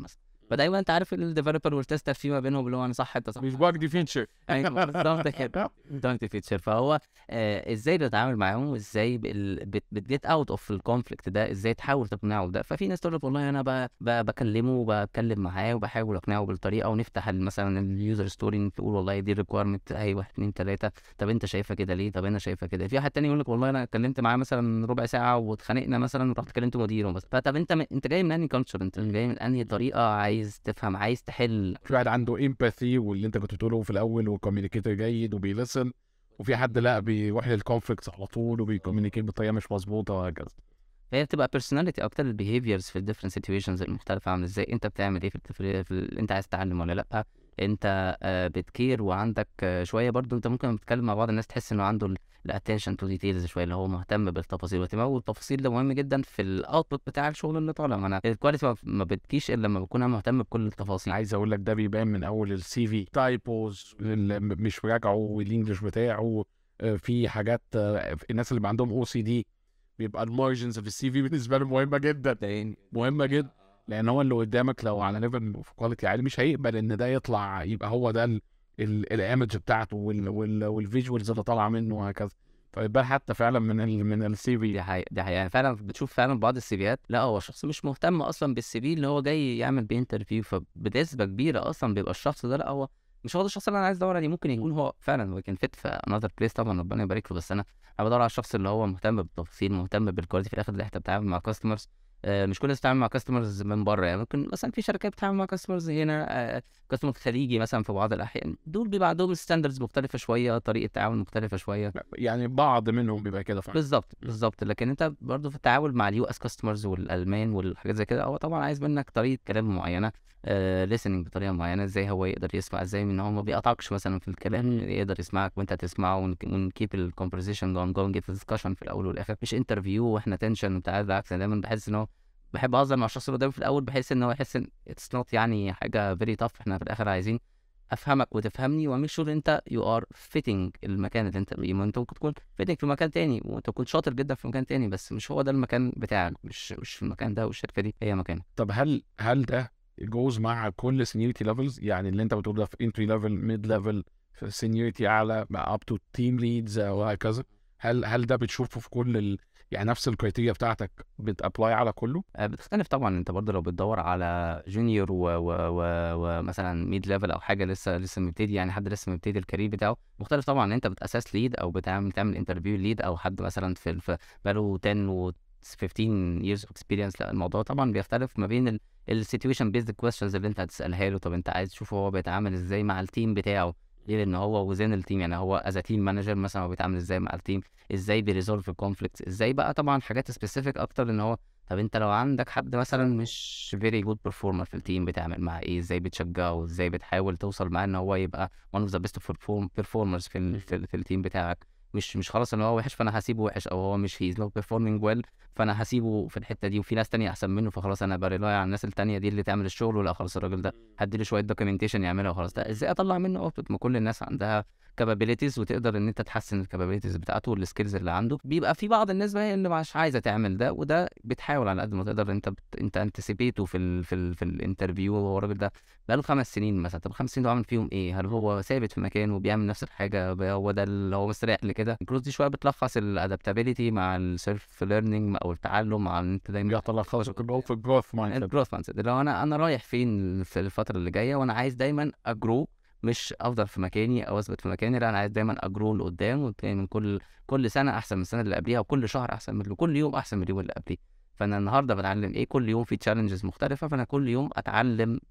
فدايما انت عارف الديفلوبر والتستر في ما بينهم اللي هو انا صح انت صح مش باج دي فيتشر. ايوه بالظبط كده دونت فيتشر. فهو ازاي بتتعامل معاهم وازاي بتجيت اوت اوف الكونفليكت ده، ازاي تحاول تقنعه بده. ففي ناس تقول لك والله انا بكلمه وبتكلم معاه وبحاول اقنعه بالطريقه، ونفتح مثلا اليوزر ستوري تقول والله دي ريكويرمنت اهي 1 2 3، طب انت شايفها كده ليه، طب انا شايفها كده. في واحد تاني يقول لك والله انا اتكلمت معاه مثلا ربع ساعه واتخانقنا مثلا ورحت كلمت مديره مثلا. فطب انت جاي من انهي كلتشر، انت جاي من انهي طريقه، عايز تفهم عايز تحل. في واحد عنده امباثي واللي انت كنت بتقوله في الاول، وكوميونيكيتور جيد وبيلسن، وفي حد لا بيروح للكونفليكتس على طول وبيكوميونيكيت بطريقه مش مظبوطه وهكذا. هي بتبقى personality اكتر، البيهيفيرز في الديفرنت سيتويشنز المختلفه عامل ازاي، انت بتعمل ايه انت عايز تتعلم ولا لا، انت بتكير وعندك شويه برضو. انت ممكن بتتكلم مع بعض الناس تحس انه عنده الاتنشن تو ديتيلز شويه، اللي هو مهتم بالتفاصيل، واهتمامه بالتفاصيل ده مهم جدا في الاوتبوت بتاع الشغل اللي طالع. ما انا الكواليتي ما بتجيش الا لما بكون انا مهتم بكل التفاصيل. عايز اقول لك ده بيبان من اول السي في، تايبوز مش مراجعه والانجلش بتاعه. في حاجات الناس اللي عندهم او سي دي بيبقى المارجنز في السي في بالنسبه له مهمه جدا، مهمه جدا، لان هو اللي قدامك لو على ليفل في كواليتي عالي مش هيقبل ان ده يطلع يبقى هو ده الايمج بتاعته والفيجوالز اللي طالعه منه وهكذا. فيبقى حتى فعلا من السي في. دي حقيقة يعني فعلا بتشوف فعلا بعض السيفيات لا هو شخص مش مهتم اصلا بالسي في اللي هو جاي يعمل بيه انترفيو، فبنسبة كبيرة اصلا بيبقى الشخص ده لا هو مش هو ده الشخص اللي انا عايز ادور عليه. ممكن يكون هو فعلا هو كان فيت في انذر بليس طبعا ربنا يبارك له، بس انا بدور على الشخص اللي هو مهتم بالتفاصيل، مهتم بالكواليتي. في الاخر اللي انت بتتعامل مع كاستمرز، مش كل الناس بتتعامل مع كاستمرز من بره. يعني ممكن مثلا في شركات بتتعامل مع كاستمرز هنا، كاستمر خليجي مثلا في بعض الاحيان، دول بيبقى عندهم ستاندردز مختلفه شويه، طريقه تعامل مختلفه شويه. يعني بعض منهم بيبقى كده فعلا. بالظبط. لكن انت برضه في التعامل مع اليو اس كاستمرز والالمان والحاجات زي كده، هو طبعا عايز منك طريقه كلام معينه، listening بطريقه معينه، ازاي هو يقدر يسمع، ازاي ان هو ما بيقطعكش مثلا في الكلام، يقدر يسمعك وانت تسمعه، ونكيب الكونفرسيشن جون جيت ديسكشن في الاول والاخر، مش انترفيو واحنا تنشن وبتاع. بالعكس انا دايما بحس ان هو بحب اهزر مع الشخص اللي قدامي في الاول، بحيث ان هو يحس ان اتس نوت يعني حاجه فيري تاف. احنا في الاخر عايزين افهمك وتفهمني، وميك شور انت يو ار فيتنج المكان اللي انت فيه. ما انت ممكن تكون فيتنج في مكان تاني، وانت تكون شاطر جدا في مكان تاني، بس مش هو ده المكان بتاعك، مش المكان ده والشركه دي هي مكانك. طب هل ده جوز مع كل سينيورتي ليفلز؟ يعني اللي انت بتقول ده في انتري ليفل، ميد ليفل، في سينيورتي اعلى، اب تو تيم ليدز وهكذا؟ هل ده بتشوفه في كل يعني نفس الكريتيريا بتاعتك بتابلاي على كله؟ بتختلف طبعا. انت برضه لو بتدور على جونيور ومثلا ميد ليفل او حاجه لسه مبتدي، يعني حد لسه مبتدي الكارير بتاعه، مختلف طبعا. انت بتاسس ليد او بتعمل انترفيو ليد، او حد مثلا في بقاله 10 و 15 years of experience. لا الموضوع طبعا بيختلف ما بين السيتويشن بيزد كويستشنز اللي انت هتسالها له. طب انت عايز تشوف هو بيتعامل ازاي مع التيم بتاعه، ليه؟ لان هو وزين التيم، يعني هو از تيم مانجر مثلا هو بيتعامل ازاي مع التيم، ازاي بيريزولف الكونفليكتس ازاي. بقى طبعا حاجات سبيسيفيك اكتر، ان هو طب انت لو عندك حد مثلا مش فيري جود بيرفورمر في التيم، بتعمل معاه ايه؟ ازاي بتشجعه؟ ازاي بتحاول توصل معاه ان هو يبقى one of the best performers في التيم بتاعك؟ مش خلاص ان هو وحش فانا هسيبه وحش، او هو مش he's not performing well فانا هسيبه في الحته دي، وفي ناس تانية احسن منه فخلاص انا بريلاي على الناس التانية دي اللي تعمل الشغل، ولا خلاص الراجل ده هديله شويه دوكيومنتيشن يعملها وخلاص. ده ازاي اطلع منه اوتبوت؟ ما كل الناس عندها كابابيلتيز، وتقدر ان انت تحسن الكابابيلتيز بتاعته والسكيلز اللي عنده. بيبقى في بعض الناس بقى اللي مش عايزه تعمل ده، وده بتحاول على قد ما تقدر انت انتسيبيته في الانترفيو. هو الراجل ده بقاله 5 سنين مثلا، طب 5 سنين ده عامل فيهم ايه؟ هل هو ثابت في مكانه وبيعمل نفس الحاجه، هو ده اللي هو مستريح لكده؟ الجروث دي شويه بتلخص الادابتابيلتي مع السيلف ليرنينج او التعلم، مع ان انت دايما بيتلخص كله في الجروث مايند. الجروث مايند سيت، لو انا رايح فين في الفتره اللي جايه، وانا عايز دايما اجرو، مش افضل في مكاني او اثبت في مكاني. لا انا عايز دايما اجرو لقدام، من كل سنه احسن من السنه اللي قبليها، وكل شهر احسن من كل يوم احسن من اليوم اللي قبليه. فانا النهارده بتعلم ايه؟ كل يوم في تشالنجز مختلفه، فانا كل يوم اتعلم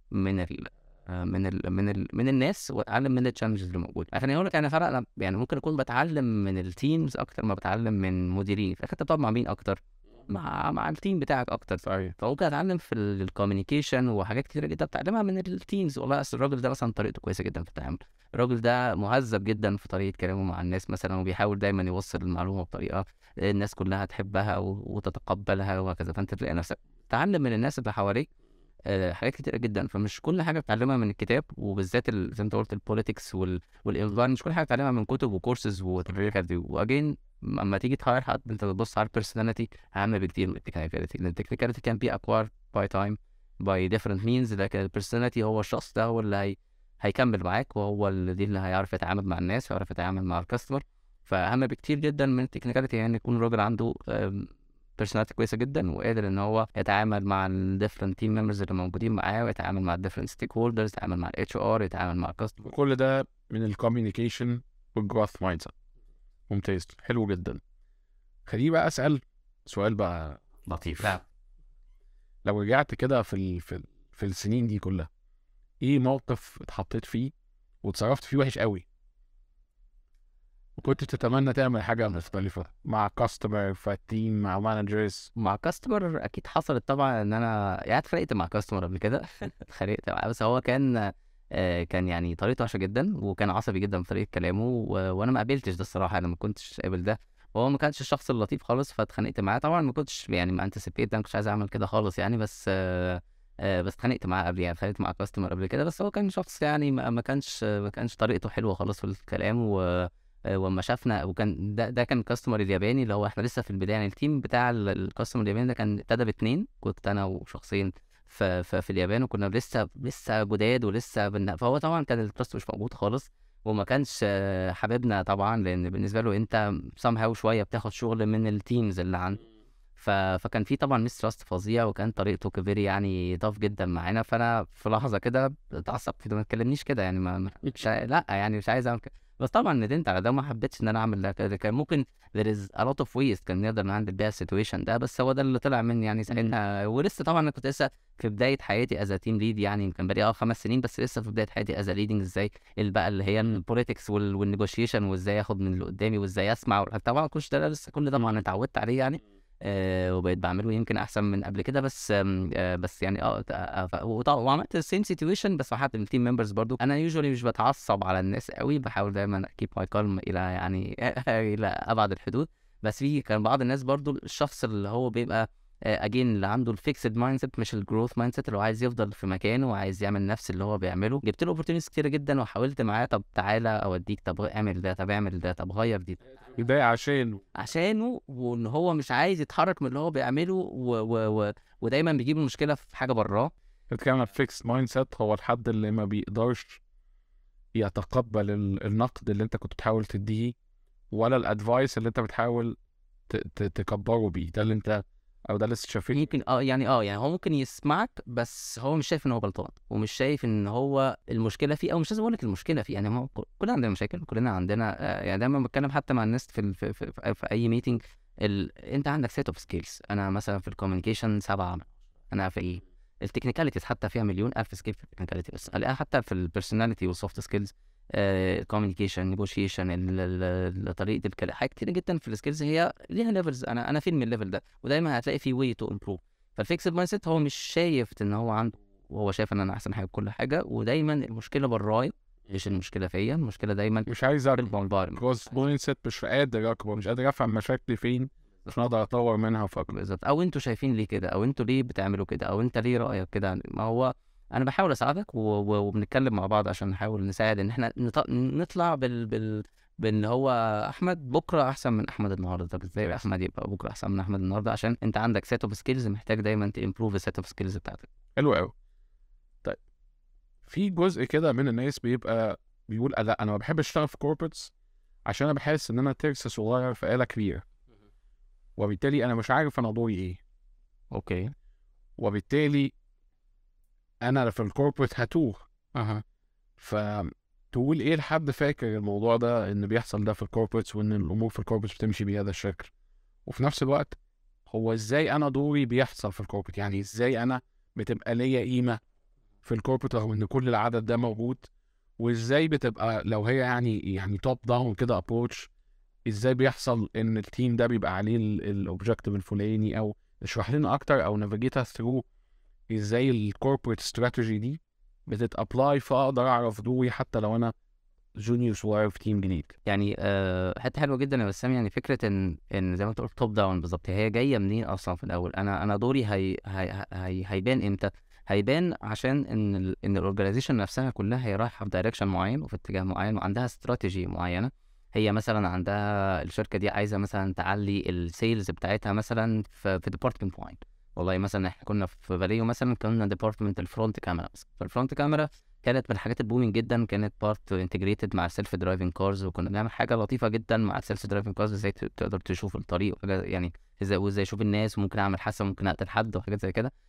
من الناس، واتعلم من التشالنجز اللي موجوده. عشان اقول لك يعني فرق، انا يعني ممكن اكون بتعلم من التيمز اكتر ما بتعلم من مديرين. فانت بتقعد مع مين اكتر؟ مع التيم بتاعك اكتر. صحيح. فممكن اتعلم في الكوميونيكيشن وحاجات كتيره جدا بتعلمها من التيمز. والله اصل الراجل ده مثلا طريقته كويسه جدا في التعامل، الراجل ده مهذب جدا في طريقه كلامه مع الناس مثلا، وبيحاول دايما يوصل المعلومه بطريقه الناس كلها تحبها وتتقبلها وهكذا. فانت تلاقي نفسك تتعلم من الناس اللي حواليك حاجات كتيرة جدا. فمش كل حاجة بتعلمها من الكتاب، وبالذات زي ما انت قلت البوليتكس والانفايرمنت، مش كل حاجة بتعلمها من كتب وكورسز والحاجات دي. واجين اما تيجي تهاير حد، انت بتبص على البيرسوناليتي اهم بكتير من التكنيكاليتي، لان التكنيكاليتي كان بي اكوار باي تايم، by different means، لكن البيرسوناليتي هو الشخص ده هو اللي هيكمل معاك، وهو دي اللي هيعرف يتعامل مع الناس ويعرف يتعامل مع الكاستمر. فأهم بكتير جدا من التكنيكاليتي يعني يكون الراجل عنده بيرسوناليتي كويسه جدا، وقادر ان هو يتعامل مع الديفرنت تيم ممبرز اللي موجودين معاه، ويتعامل مع الديفرنت ستيك هولدرز، يتعامل مع الاتش ار، يتعامل مع الكاستمر. وكل ده من الكوميونيكيشن والجروث مايند سيت. ممتاز، حلو جدا. خليني بقى اسال سؤال بقى لطيف. نعم. لو رجعت كده في السنين دي كلها، ايه موقف اتحطيت فيه وتصرفت فيه وحش قوي وكنت تتمنى تعمل حاجه مختلفه مع كاستمر، في التيم، مع مانجرز؟ مع كاستمر اكيد حصلت طبعا، ان انا يعني اتخانقت مع كاستمر قبل كده اتخانقت معاه، بس هو كان يعني طريقته وحشه جدا، وكان عصبي جدا في طريقه كلامه، وانا ما قابلتش ده الصراحه، انا ما كنتش قابل ده، وهو ما كانش الشخص اللطيف خالص، فاتخانقت معاه. طبعا ما كنتش يعني ما انتسيبيت، ما كنتش عايز اعمل كده خالص يعني، بس اتخانقت معاه قبل، يعني اتخانقت مع كاستمر قبل كده، بس هو كان شخص يعني ما كانش طريقته حلوه خالص في الكلام. وما شافنا، وكان ده كان كاستمر الياباني اللي هو احنا لسه في البدايه، يعني التيم بتاع الكاستمر الياباني ده كان ابتدى ب2، كنت انا وشخصين في اليابان، وكنا لسه جداد ولسه فهو طبعا كان التراست مش موجود خالص، وما كانش حاببنا طبعا، لان بالنسبه له انت somehow شويه بتاخد شغل من التيمز اللي عنده. فكان في طبعا ميس تراست فظيع، وكان طريقته كفيري يعني طاف جدا معانا. فانا في لحظه كده اتعصبت، ما تكلمنيش كده يعني، لا يعني مش عايز اعمل كده، بس طبعا ندمت على ده، وما حبيتش ان انا اعمل ده كده. كان ممكن there is a lot of ways كان نقدر نهندل بيها السيتويشن ده، بس هو ده اللي طلع مني يعني ساعتها. ولسه طبعا انا كنت لسه في بدايه حياتي از تيم ليد، يعني كان بقالي 5 سنين، بس لسه في بدايه حياتي از ليدنج، ازاي بقى اللي هي البوليتكس والنيجوشيشن، وازاي اخد من اللي قدامي، وازاي اسمع، طبعا كل ده طبعا اتعودت عليه يعني. وبقيت بعمله يمكن احسن من قبل كده، بس يعني وعملت السيم سيتويشن، بس مع حد من التيم ممبرز برضو. انا يوجوالي مش بتعصب على الناس قوي، بحاول دايما اكيب ماي كالم الى يعني الى ابعد الحدود، بس كان بعض الناس برضو الشخص اللي هو بيبقى اجين اللي عنده الفيكسد مايند سيت مش الجروث مايند سيت، اللي هو عايز يفضل في مكانه وعايز يعمل نفس اللي هو بيعمله. جبت له اوبورتونيتيز كتير جدا، وحاولت معاه، طب تعالى اوديك، طب اعمل ده، طب اعمل ده، طب غير دي، ده عشانه، وان هو مش عايز يتحرك من اللي هو بيعمله، ودايما بيجيب المشكله في حاجه براه. بتتكلم عن فيكس مايند سيت، هو الحد اللي ما بيقدرش يتقبل النقد اللي انت كنت بتحاول تديه، ولا الادفايس اللي انت بتحاول تكبره بيه. ده اللي انت، او ده اللي شايفين. ممكن يعني هو ممكن يسمعك، بس هو مش شايف ان هو غلطان، ومش شايف ان هو المشكله فيه، او مش لازم اقول لك المشكله فيه، يعني هو كلنا عندنا مشاكل، كلنا عندنا يعني دايما بتكلم حتى مع الناس في اي ميتنج، انت عندك سيت اوف سكيلز. انا مثلا في الكوميونيكيشن 7، انا في ايه التكنيكاليتيز حتى فيها مليون الف سكيل في التكنيكاليتي، بس الاقيها حتى في البيرسوناليتي والسوفت سكيلز، الكوميونيكيشن، نيجوشيشن، طريقه الكلام، حاجات كتير جدا في السكيلز هي ليها ليفلز. انا فين من الليفل ده، ودايما هتلاقي في واي تو امبروف. فالفيكسد مايند سيت هو مش شايف ان هو عنده، وهو شايف ان انا احسن حاجه في كل حاجه، ودايما المشكله برايا، مش المشكله فيا، المشكله دايما مش عايز اكبر. كروس مايند سيت، مش قادر اكبر، مش قادر افهم مشاكلي فين عشان اقدر اطور منها فاكر. بالظبط، او انتوا شايفين ليه كده، او انتوا ليه بتعملوا كده، او انت ليه رايك كده. ما هو انا بحاول اساعدك، وبنتكلم مع بعض عشان نحاول نساعد ان احنا نطلع بان هو احمد بكره احسن من احمد النهارده. طب ازاي احمد يبقى بكره احسن من احمد النهارده؟ عشان انت عندك سيت اوف سكيلز، محتاج دايما تمبروف السيت اوف سكيلز بتاعتك. حلو قوي. طيب، في جزء كده من الناس بيبقى بيقول لا انا ما بحبش اشتغل في كوربريتس عشان انا بحس ان انا ترس صغير في آلة كبيره، وبالتالي انا مش عارف انا دوري ايه. اوكي. وبالتالي انا في الكوربريت هتوه. فتقول ايه لحد فاكر الموضوع ده ان بيحصل ده في الكوربريتس، وان الامور في الكوربريتس بتمشي بهذا الشكل، وفي نفس الوقت هو ازاي انا دوري بيحصل في الكوربريت؟ يعني ازاي انا بتبقى ليا قيمه في الكوربريت رغم ان كل العدد ده موجود؟ وازاي بتبقى لو هي يعني توب داون كده ابروتش، ازاي بيحصل ان التيم ده بيبقى عليه الاوبجكتيف الفلاني؟ او اشرح لنا اكتر، او نافيجيت ثرو ازاي الكوربريت استراتيجي دي بتتابلاي، فاقدر اعرف دوري حتى لو انا جونيور صغير في تيم جديد. يعني حته حلوه جدا يا بسام، يعني فكره ان زي ما انت قلت توب داون بالظبط، هي جايه منين اصلا في الاول؟ انا دوري هيبان امتى؟ هيبان عشان ان الاورجانيزيشن نفسها كلها هي رايحه في دايركشن معين وفي اتجاه معين، وعندها استراتيجي معينه. هي مثلا عندها الشركه دي عايزه مثلا تعلي السيلز بتاعتها مثلا في ديبارتمنت معين، والله مثلا احنا كنا في فاليو مثلا كنا ديبارتمنت الفرونت كاميرا، فالفرونت كاميرا كانت من الحاجات البومينج جدا، كانت بارت انتجريتد مع السيلف درايفنج كارز، وكنا بنعمل حاجه لطيفه جدا مع السيلف درايفنج كارز، ازاي تقدر تشوف الطريق وحاجه يعني وازاي اشوف الناس، وممكن اعمل حادثه، ممكن اقتل حد وحاجات زي كده.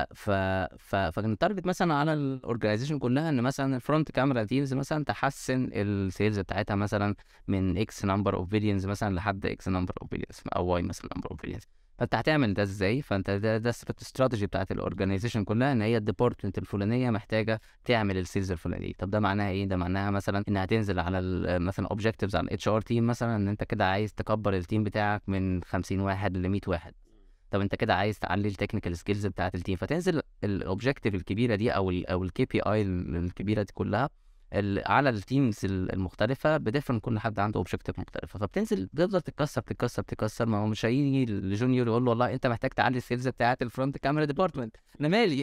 فكان التارجت مثلا على الاورجنايزيشن كلها ان مثلا الفرونت كاميرا تيمز مثلا تحسن السيلز بتاعتها مثلا من اكس نمبر اوف فيديونز مثلا لحد اكس نمبر اوف فيديونز، او واي مثلا نمبر اوف فيديونز. فانت هتعمل ده ازاي؟ فانت ده الاستراتيجي بتاعت الاورجنايزيشن كلها، ان هي الديبارتمنت الفلانيه محتاجه تعمل السيلز الفلانيه. طب ده معناها ايه؟ ده معناها مثلا ان هتنزل على مثلا اوبجكتيفز على الاتش ار تيم، مثلا ان انت كده عايز تكبر التيم بتاعك من 50 واحد ل 100 واحد. طب انت كده عايز تعلي التكنيكال سكيلز بتاعت التيم، فتنزل الاوبجكتيف الكبيره دي او الكي بي اي الكبيره دي كلها على التيمز المختلفه بديفرنت، كل حد عنده اوبجكتيف مختلفه، فبتنزل بتفضل تتكسر. ما هو مش هيجي لجونيور يقول له والله انت محتاج تعلي السيلز بتاعت الفرونت كاميرا ديبارتمنت، انا مالي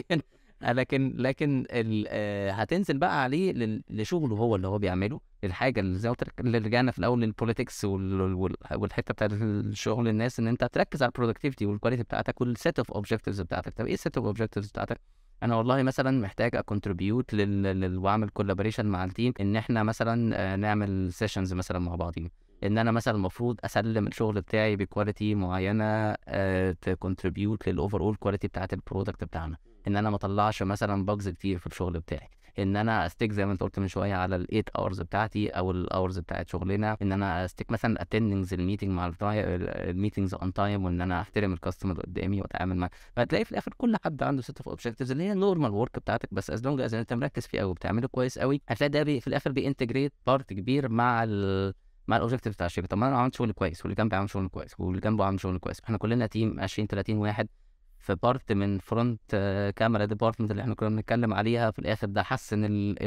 لكن هتنزل بقى عليه لشغله هو اللي هو بيعمله، الحاجه اللي زي ما قلت لك اللي رجعنا في الاول للبوليتكس والحته بتاعت الشغل الناس، ان انت تركز على البرودكتيفيتي والكواليتي بتاعتك والسيت اوف اوبجكتيفز بتاعتك. طب ايه السيت اوف اوبجكتيفز بتاعتك؟ انا والله مثلا محتاج اكونتريبيوت واعمل كولابوريشن مع التيم، ان احنا مثلا نعمل سيشنز مثلا مع بعضين، ان انا مثلا المفروض اسلم الشغل بتاعي بكواليتي معينه تكونتريبيوت للاوفر اول كواليتي بتاعت البرودكت بتاعنا، ان انا ما اطلعش مثلا باجز كتير في الشغل بتاعي، ان انا استيك زي ما انت قلت من شويه على ال 8 اورز بتاعتي او الاورز بتاعت شغلنا، ان انا استيك مثلا اتندنجز الميتنج مع الميتنجز اون تايم، وان انا احترم الكاستمر اللي قدامي واتعامل معاه. فهتلاقي في الاخر كل حد عنده سيت اوف اوبجكتيفز اللي هي النورمال ورك بتاعتك، بس از لونج از انت مركز فيه قوي وبتعمله كويس قوي، هتلاقي ده في الاخر بينتجريت بارت كبير مع الاوبجكتيف بتاع الشركه. طب ما انا عملت شغل كويس، واللي جنبي عمل شغل كويس، واللي جنبه عمل شغل كويس، احنا كلنا تيم 20 30 واحد في بارت من فرونت كاميرا ديبارتمنت اللي احنا كنا بنتكلم عليها، في الاخر ده حسن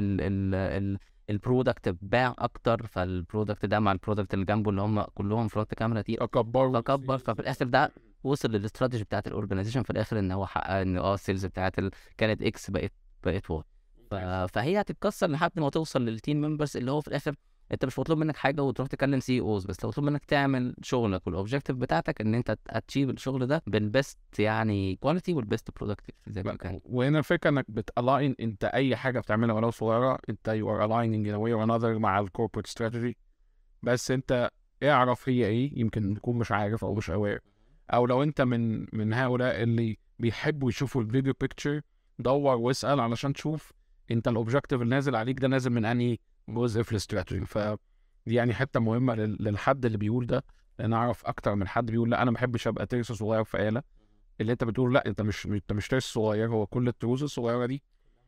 البرودكت باع اكتر، فالبرودكت ده مع البرودكت اللي جنبه اللي هم كلهم فرونت كاميرا تيم فكبر، ففي الاخر ده وصل للاستراتيجي بتاعت الاورجنايزيشن في الاخر، ان هو حقق ان السيلز بتاعت كانت اكس بقت واي. فهي هتتكسر لحد ما توصل للتيم ممبرز، اللي هو في الاخر انت مش مطلوب منك حاجه وتروح تكلم سي اوز بس، لو مطلوب منك تعمل شغلك والاوبجكتيف بتاعتك ان انت اتشيف الشغل ده بالبيست يعني كواليتي والبيست برودكتيف زي ما كان. وهنا الفكره انك بتالاين انت اي حاجه بتعملها ولو صغيره، انت يو ار aligning in a way or another مع الكوربريت ستراتيجي، بس انت اعرف هي ايه، يمكن تكون مش عارف او مش aware، او لو انت من هؤلاء اللي بيحبوا يشوفوا الفيديو بيكتشر، دور واسال علشان تشوف انت الاوبجكتيف اللي نازل عليك ده نازل من انهي جزء في الاستراتيجي. فدي يعني حته مهمه للحد اللي بيقول ده، لان اعرف اكتر من حد بيقول لا انا ما بحبش ابقى ترس صغير في آلة. اللي انت بتقول لا، انت مش ترس صغير، هو كل التروس الصغيره دي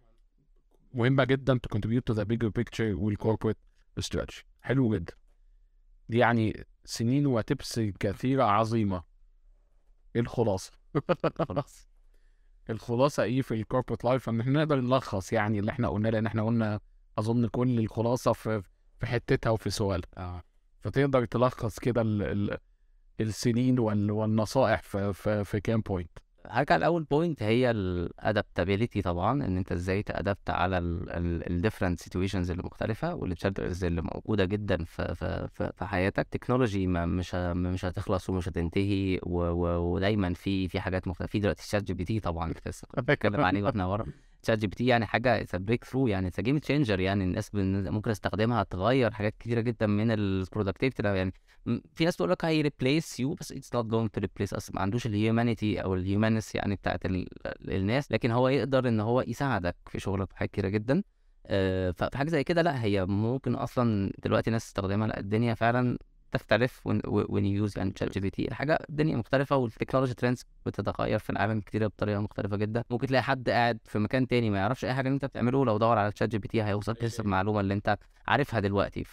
مهمه جدا to contribute to the bigger picture والcorporate strategy. حلو جدا. دي يعني سنين وتبس كثيره عظيمه. ايه الخلاصه؟ خلاص الخلاصه ايه في الكوربريت لايف؟ ان احنا نقدر نلخص يعني اللي احنا قلناه، لان احنا قلنا اظن كل الخلاصه في حتتها وفي سؤالها. فتقدر تلخص كده السنين والنصائح في كام بوينت؟ هرجع لاول بوينت، هي الادابتابيليتي طبعا، ان انت ازاي تادبت على الديفرنت سيتويشنز اللي مختلفه والتشالنجز اللي موجوده جدا في حياتك. تكنولوجي مش هتخلص ومش هتنتهي، ودايما في حاجات مختلفه. في دلوقتي شات جي بي تي طبعا لسه بنتكلم عليه واحنا ورا. شات جي بي تي يعني حاجه اتس بريك ثرو، يعني اتس جيم تشينجر، يعني الناس ممكن تستخدمها تغير حاجات كتيره جدا من البرودكتيفيتي. يعني في ناس تقول لك هي ريبليس يو، بس اتس نوت جوينج تو ريبليس اس، ما عندوش الهيومانيتي او الهيومانس يعني بتاعت الناس، لكن هو يقدر ان هو يساعدك في شغلك في حاجات كتيره جدا. ففي حاجه زي كده لا، هي ممكن اصلا دلوقتي ناس تستخدمها، لا الدنيا فعلا تختلف when you use يعني شات جي بي تي. الحاجه الدنيا مختلفه، والتكنولوجي ترندز بتتغير في العالم كتير بطريقه مختلفه جدا. ممكن تلاقي حد قاعد في مكان تاني ما يعرفش اي حاجه اللي انت بتعمله، لو دور على شات جي بي تي هيوصل لنفس المعلومه اللي انت عارفها دلوقتي.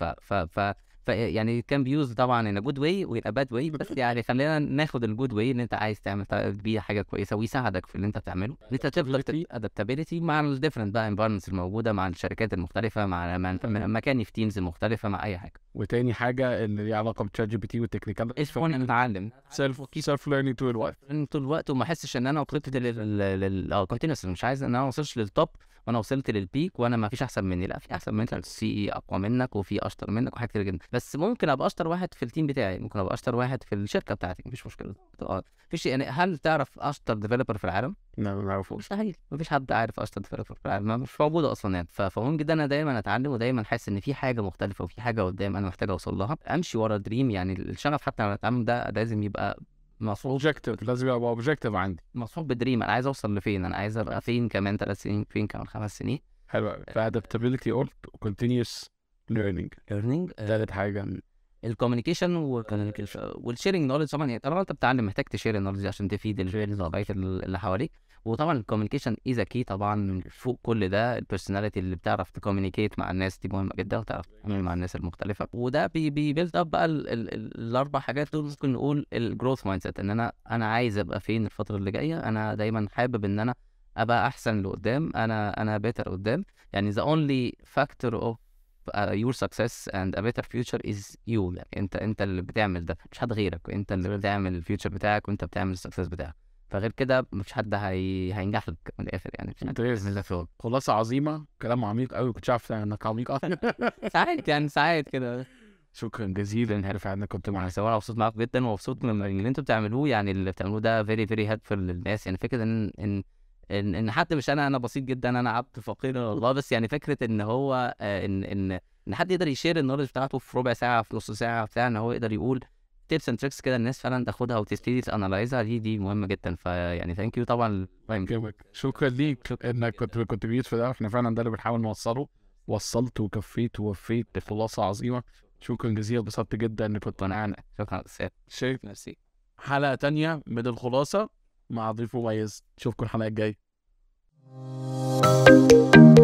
يعني كان بيوز طبعا ان جود واي وان باد واي، بس يعني خلينا ناخد الجود واي ان انت عايز تعمل بيه حاجه كويسه ويساعدك في اللي انت بتعمله، ان انت تفضل ادابتابيلتي مع الديفرنت بقى انفايرمنتس الموجوده، مع الشركات المختلفه، مع مكاني في تيمز المختلفه، مع اي حاجه. وتاني حاجه اللي ليها علاقه بتشات جي بي تي والتكنيكال، ايش ان نتعلم سيلف ليرنينج طول الوقت طول الوقت، وما احسش ان انا وصلت كونتينوس، مش عايز ان انا ما اوصلش للتوب وانا وصلت للبيك وانا ما فيش احسن مني، لا في احسن منك، في اقوى منك وفي اشطر منك وحاجات كتير جدا، بس ممكن ابقى اشطر واحد في التيم بتاعي، ممكن ابقى اشطر واحد في الشركه بتاعتي، مفيش مشكله. فيش يعني. هل تعرف اشطر ديفلوبر في العالم؟ ما نعرفوش. مستحيل، مفيش حد عارف اشطر ديفلوبر في العالم، مش موجوده اصلا يعني. فمهم جدا انا دايما اتعلم، ودايما حاسس ان في حاجه مختلفه وفي حاجه قدام انا محتاج اوصل لها، امشي ورا دريم. يعني الشغف حتى لما اتعلم ده لازم يبقى مصحوب، اوبجيكتيف، لازم يبقى اوبجيكتيف عندي. مصحوب بدريم. انا عايز اوصل لفين، انا عايز ابقى فين كمان 3 سنين، فين كمان 5 سنين. حلو قوي. فادابتابيلتي قلت وكونتينيوس ليرنينج، ليرنينج. تالت حاجه الكوميونيكيشن والشيرنج نولج. طبعا يعني طالما انت بتتعلم محتاج تشير النولج عشان تفيد البقيه اللي حواليك. وطبعا الكوميونيكيشن از كي طبعا. فوق كل ده البيرسوناليتي اللي بتعرف تكوميونيكيت مع الناس دي مهمه جدا، وتعرف تتعامل مع الناس المختلفه. وده بيبيلد اب بقى الاربع حاجات دول. ممكن نقول الجروث مايند سيت، ان انا عايز ابقى فين الفتره اللي جايه. انا دايما حابب ان انا ابقى احسن لقدام، انا بيتر قدام. يعني the only factor of your success and a better future is you. يعني انت اللي بتعمل ده، مش حد غيرك. انت اللي بتعمل الفيوتشر بتاعك، وانت بتعمل السكسس بتاعك. فغير كده مفيش حد هينجح لك من الاخر يعني. مش حد هيعمل لك شغل. خلاصه عظيمه، كلام عميق قوي، كنتش عارف انك عميق اصلا. ساعات يعني ساعات كده. شكرا جزيلا، عارف انك كنت معايا. انا مبسوط معاكم جدا، ومبسوط من اللي انتوا بتعملوه. يعني اللي بتعملوه ده very very helpful للناس. يعني فكره ان حد مش انا بسيط جدا، انا عبد فقير والله. بس يعني فكره ان هو ان حد يقدر يشير النولج بتاعته في ربع ساعه، في نص ساعه بتاع، ان هو يقدر يقول تيبس اند تريكس كده الناس فعلا تاخدها وتبتدي تانلايزها، دي مهمه جدا. فيعني ثانك يو طبعا. شكرا ليك انك كنت كونتريبيوت في ده. احنا فعلا ده اللي بنحاول نوصله. وصلت وكفيت ووفيت بخلاصه عظيمه. شكرا جزيلا، انبسطت جدا انك كنت معانا. شكرا. شايف ميرسي. حلقه تانية من الخلاصه مع ضيف مميز. اشوفكم الحلقه الجايه.